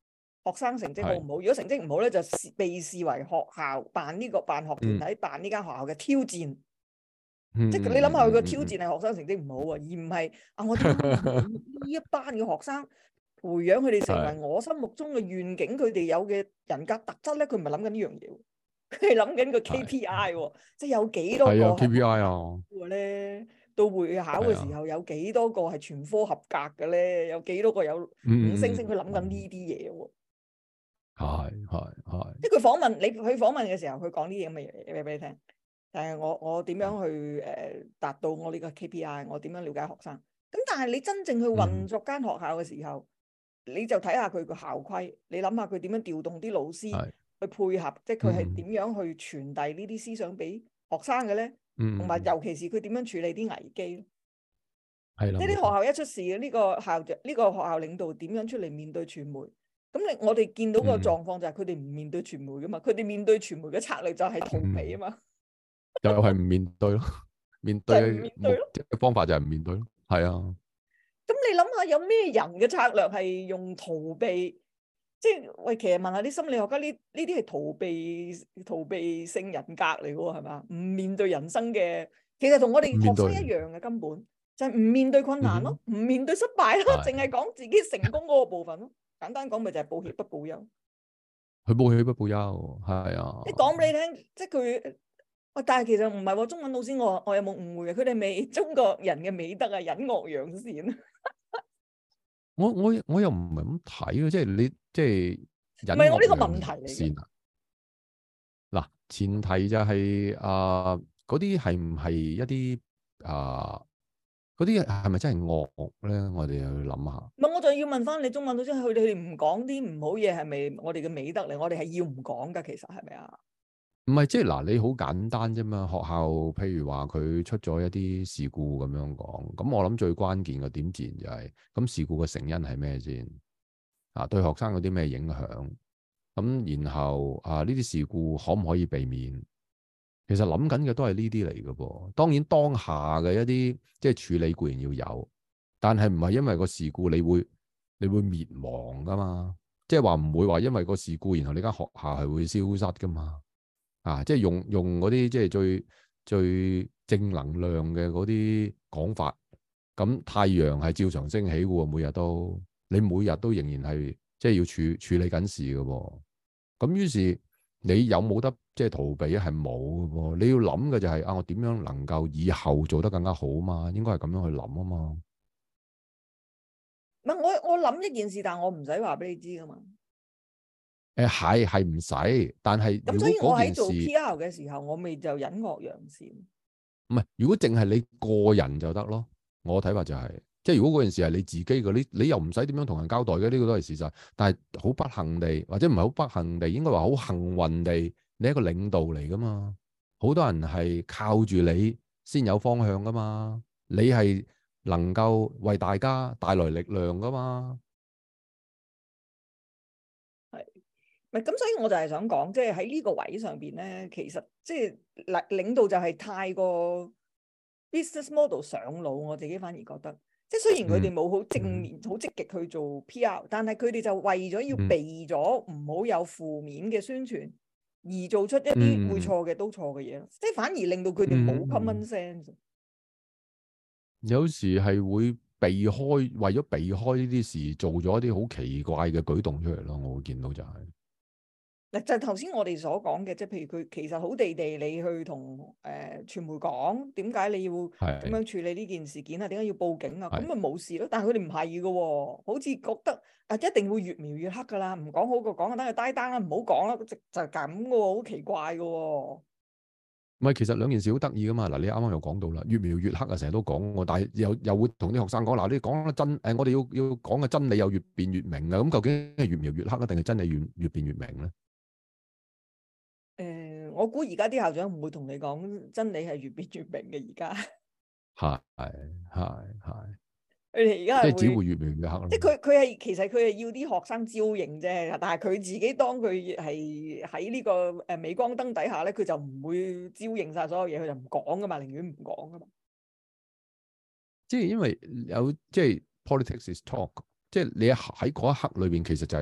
學生成績好唔好？如果成績唔好咧，就被視為學校辦呢、這個辦學團體、嗯、辦呢間學校嘅挑戰。 嗯、 即係你諗下，佢個挑戰係學生成績唔好啊，而唔係啊我點樣令呢一班嘅學生培養佢哋成為我心目中嘅願景，佢哋有嘅人格特質咧，佢唔係諗緊呢樣嘢，佢係諗緊個 K P I，即係有幾多個係 K P I 啊咧？到會考嘅時候有幾多個係全科合格嘅咧？有幾多個有五星星？佢諗緊呢啲嘢喎。 係係係。 即係佢訪問你，佢訪問嘅時候，佢講呢啲咁嘅嘢嘢俾你聽。誒，我我點樣去誒達到我呢個 K P I？我點樣了解學生？咁但係你真正去運作間學校嘅時候，嗯、你就睇下佢個校規，你諗下佢點樣調動啲老師去配合，即係佢係點樣去傳遞呢啲思想俾學生嘅咧？同埋、嗯、尤其是佢點樣處理啲危機？係啦，即係啲學校一出事嘅呢、呢個校長，呢、呢個學校領導點樣出嚟面對傳媒？咁你我哋見到個狀況就係佢哋唔面對傳媒噶嘛？佢哋、嗯、面對傳媒嘅策略就係逃避啊嘛。嗯就係唔面對咯，面對嘅方法就係唔面對咯，係啊。 咁你諗下，有咩人嘅策略係用逃避？即係喂，其實問下啲心理學家，呢呢啲係逃避逃避性人格嚟嘅喎，係嘛？唔面對人生嘅，其實同我哋學生一樣嘅，根本就係唔面對困難咯，唔、嗯、面對失敗咯，淨係講自己成功嗰個部分咯。簡單講，咪就係報喜不報憂。 佢報喜不報憂，係啊。 即係講俾你聽，即係佢。喂，但係其實唔係喎，中文老師我我有冇誤會嘅？佢哋未中國人嘅美德啊，隱惡揚善。 我我我又唔係咁睇嘅，即係你即係唔係我呢個問題嚟嘅。 嗱，前提就係啊，嗰啲係唔係一啲啊，嗰啲係咪真係惡咧？我哋又要諗下。唔係， 我就要問翻你中文老師，佢哋唔講啲唔好嘢，係咪我哋嘅美德嚟？我哋係要唔講噶？其實係咪啊？ 唔係，即係嗱，你好簡單啫嘛。學校譬如話佢出咗一啲事故咁樣講，咁我諗最關鍵嘅點自然就係、是，咁事故嘅成因係咩先？啊，對學生有啲咩影響？咁然後啊，呢啲事故可唔可以避免？其實諗緊嘅都係呢啲嚟嘅噃。當然當下嘅一啲即係處理固然要有，但係唔係因為個事故你會你會滅亡噶嘛？即係話唔會話因為個事故，然後呢間學校係會消失噶嘛？啊！即係用用嗰啲即係最最正能量嘅嗰啲講法，咁太陽係照常升起嘅喎，每日都你每日都仍然係即係要處處理緊事嘅喎。咁於是你有冇得即係逃避啊？係冇嘅喎。你要諗嘅就係、是、啊，我點樣能夠以後做得更加好嘛？應該係咁樣去諗啊嘛。 唔係我我諗一件事，但係我唔使話俾你知㗎嘛。 誒係係唔使，但係咁所以我喺做 P R 嘅時候，我咪就隱惡揚善。 唔係，如果淨係你個人就得咯。我睇法就係、是，即係如果嗰件事係你自己嘅，你你又唔使點樣同人交代嘅，呢、這個都係事實。但係好不幸地，或者唔係好不幸地，應該話好幸運地，你係一個領導嚟噶嘛。好多人係靠住你先有方向噶嘛。你係能夠為大家帶來力量噶嘛。 咁，所以我就係想講，即係喺呢個位上邊咧，其實即係領領導就係太過 business model 上腦，我自己反而覺得，即係雖然佢哋冇好正面、好、嗯、積極去做 P R，但係佢哋就為咗要避咗唔好有負面嘅宣傳，而做出一啲會錯嘅都錯嘅嘢咯，即係反而令到佢哋冇 common sense。 有時係會避開，為咗避開呢啲事，做咗一啲好奇怪嘅舉動出嚟咯。我會見到就係、是。 嗱，就係頭先我哋所講嘅，即係譬如佢其實好地地，你去同誒、呃、傳媒講點解你要咁樣處理呢件事件啊？點解要報警啊？咁咪冇事咯。但係佢哋唔係嘅喎，好似覺得啊一定會越描越黑㗎啦，唔講好過講，等佢低單啦，唔好講啦，就就係咁嘅喎，好奇怪嘅喎。 唔係，其實兩件事好得意㗎嘛。嗱，你啱啱又講到啦，越描越黑啊，成日都講喎，但係又又會同啲學生講嗱，你講得真誒，我哋要要講嘅真理又越變越明啊。咁究竟係越描越黑啊，定係真理越越變越明咧？ 誒、呃，我估而家啲校長唔會同你講真理係越變越明嘅，而家係係係， 佢哋而家即係只會越描越黑咯。 即係佢佢係其實佢係要啲學生招認啫，但係佢自己當佢係喺呢個誒鎂光燈底下咧，佢就唔會招認晒所有嘢，佢就唔講噶嘛，寧願唔講噶嘛。 即係因為有即係 politics is talk，即係你喺嗰一刻裏邊，其實就係、是。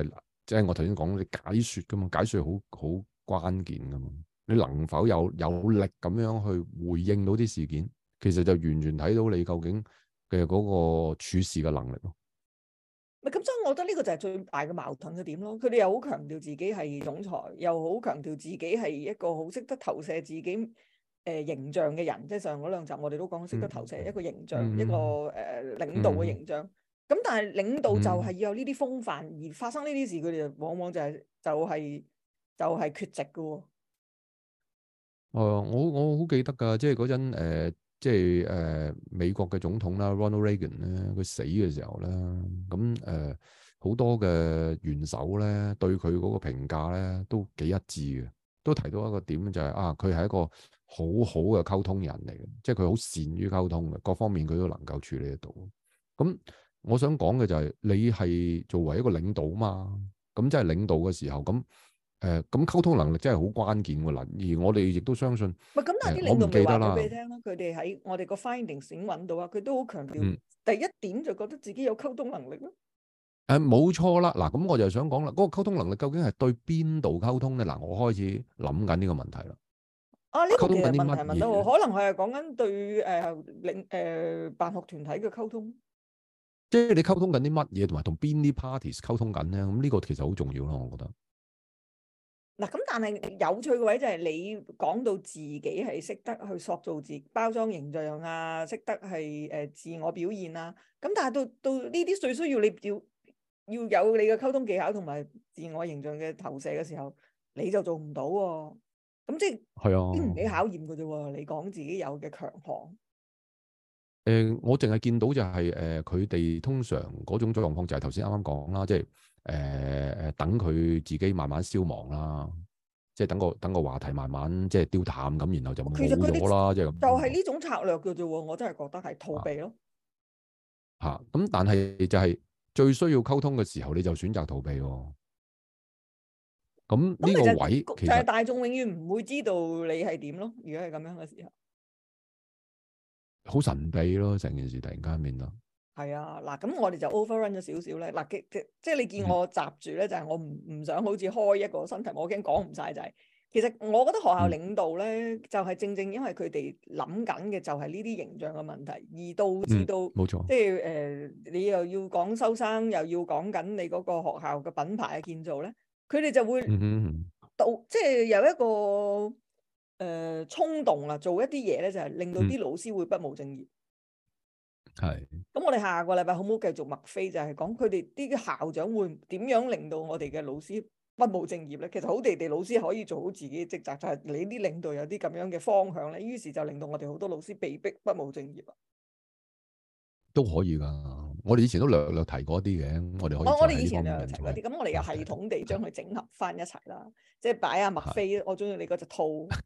即係我頭先講你解説噶嘛，解説好好關鍵噶嘛。你能否有有力咁樣去回應到啲事件，其實就完全睇到你究竟嘅嗰個處事嘅能力咯。 咪咁，所以我覺得呢個就係最大嘅矛盾嘅點咯。佢哋又好強調自己係總裁，又好強調自己係一個好識得投射自己誒、呃、形象嘅人。即係上嗰兩集我哋都講識得投射一個形象， 嗯、 一個誒、呃、領導嘅形象。咁、嗯、但係領導就係要有呢啲風範，嗯、而發生呢啲事，佢哋就往往就係、是、就係、是、就係、是、缺席嘅喎。 誒、呃，我我好記得㗎，即係嗰陣誒，即係誒、呃、美國嘅總統啦，Ronald Reagan 咧，佢死嘅時候咧，咁誒好多嘅元首咧對佢嗰個評價咧都幾一致嘅，都提到一個點就係、是、啊，佢係一個好好嘅溝通人嚟嘅，即係佢好善於溝通嘅，各方面佢都能夠處理得到。咁我想講嘅就係、是、你係作為一個領導嘛，咁即係領導嘅時候咁。誒咁溝通能力真係好關鍵喎嗱，而我哋亦都相信。 唔係咁，但係啲領導咪話咗俾你聽咯，佢哋喺我哋個 findings 已經揾到啊，佢都好強調、嗯、第一點就覺得自己有溝通能力咯。 誒冇錯啦，嗱咁我就想講啦，嗰、那個溝通能力究竟係對邊度溝通咧？嗱，我開始諗緊呢個問題啦。 啊，呢、這個其實問題問問得好，可能係講緊對誒領誒辦學團體嘅溝通。 即係你溝通緊啲乜嘢，同埋同邊啲 parties 溝通緊咧？咁呢個其實好重要咯，我覺得。 嗱，咁但係有趣嘅位就係你講到自己係識得去塑造自包裝形象啊，識得係誒、呃、自我表現啊。咁但係到到呢啲最需要你要要有你嘅溝通技巧同埋自我形象嘅投射嘅時候，你就做唔到喎、啊。咁即係係啊，經唔起考驗嘅啫喎。你講自己有嘅強項。誒、 呃，我淨係見到就係、是、誒，佢、呃、哋通常嗰種狀況就係頭先啱啱講啦，即係。誒誒、呃，等佢自己慢慢消亡啦，即係等個等個話題慢慢即係丟淡咁，然後就冇咗啦，即係咁。就係呢種策略嘅啫喎，我真係覺得係逃避咯。嚇、啊！咁、啊、但係就係最需要溝通嘅時候，你就選擇逃避喎。咁呢個位其實就係大眾永遠唔會知道你係點咯。如果係咁樣嘅時候，好神秘咯，成件事突然間變到。係啊，嗱，咁我哋就 overrun 咗少少咧。嗱，即即即係你見我閘住咧，就係、是、我唔唔想好似開一個新題目，我驚講唔晒。就係、是、其實我覺得學校領導咧，嗯、就係正正因為佢哋諗緊嘅就係呢啲形象嘅問題，而導致到冇錯、嗯，即係誒、呃，你又要講收生，又要講緊你嗰個學校嘅品牌嘅建造咧，佢哋就會導、嗯、即係有一個誒、呃、衝動啊，做一啲嘢咧，就係、是、令到啲老師會不務正業。係，咁我哋下個禮拜好唔好繼續麥飛？就係講佢哋啲校長會點樣令到我哋嘅老師不務正業咧？其實好地地老師可以做好自己嘅職責，就係、是、你啲領導有啲咁樣嘅方向咧，於是就令到我哋好多老師被逼不務正業啊。都可以噶，我哋以前都略略提過一啲嘅，我哋可以。我我哋以前略略提過啲，咁我哋又系統地將佢整合翻一齊啦，即係擺阿麥飛，我中意你嗰隻套。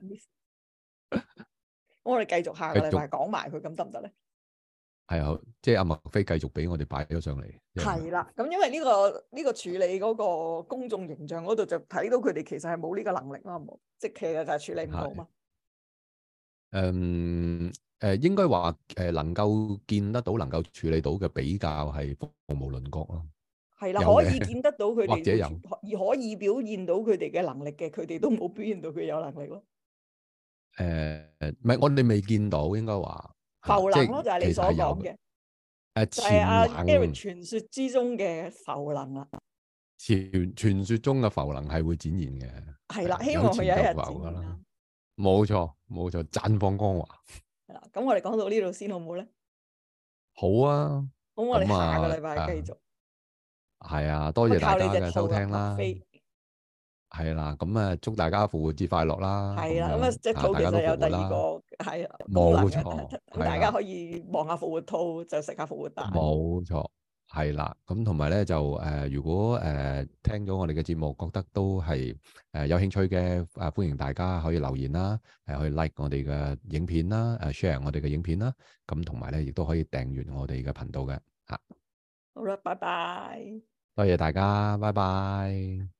我哋繼續下個禮拜講埋佢，咁得唔得咧？係啊，即係阿麥飛繼續俾我哋擺咗上嚟。係啦，咁因為呢、這個呢、這個處理嗰個公眾形象嗰度就睇到佢哋其實係冇呢個能力啦，冇，即係其實就係處理唔到嘛。誒誒、呃，應該話誒能夠見得到、能夠處理到嘅比較係鳳毛麟角咯。係啦，可以見得到佢哋，或者有而可以表現到佢哋嘅能力嘅，佢哋都冇表現到佢有能力咯。誒、呃，唔係，我哋未見到，應該話。浮能咯，就係你所講嘅，誒，就係阿 Eric 傳說之中嘅浮能啦。傳傳說中嘅浮能係會展現嘅，係啦，希望佢有一日展現啦。冇錯，冇錯，綻放光華。係啦，咁我哋講到呢度先好唔好咧？好啊，咁我哋下個禮拜繼續。係啊，多謝大家嘅收聽啦。係啦，咁啊，祝大家復活節快樂啦！係啦，咁啊，隻兔其實有第二個係冇錯，咁大家可以望下復活兔，就食下復活蛋。冇錯，係啦，咁同埋咧就誒，如果誒聽咗我哋嘅節目，覺得都係誒有興趣嘅，誒歡迎大家可以留言啦，誒可以 like 我哋嘅影片啦，誒 share 我哋嘅影片啦，咁同埋咧亦都可以訂閱我哋嘅頻道嘅吓。好啦，拜拜。多謝大家，拜拜。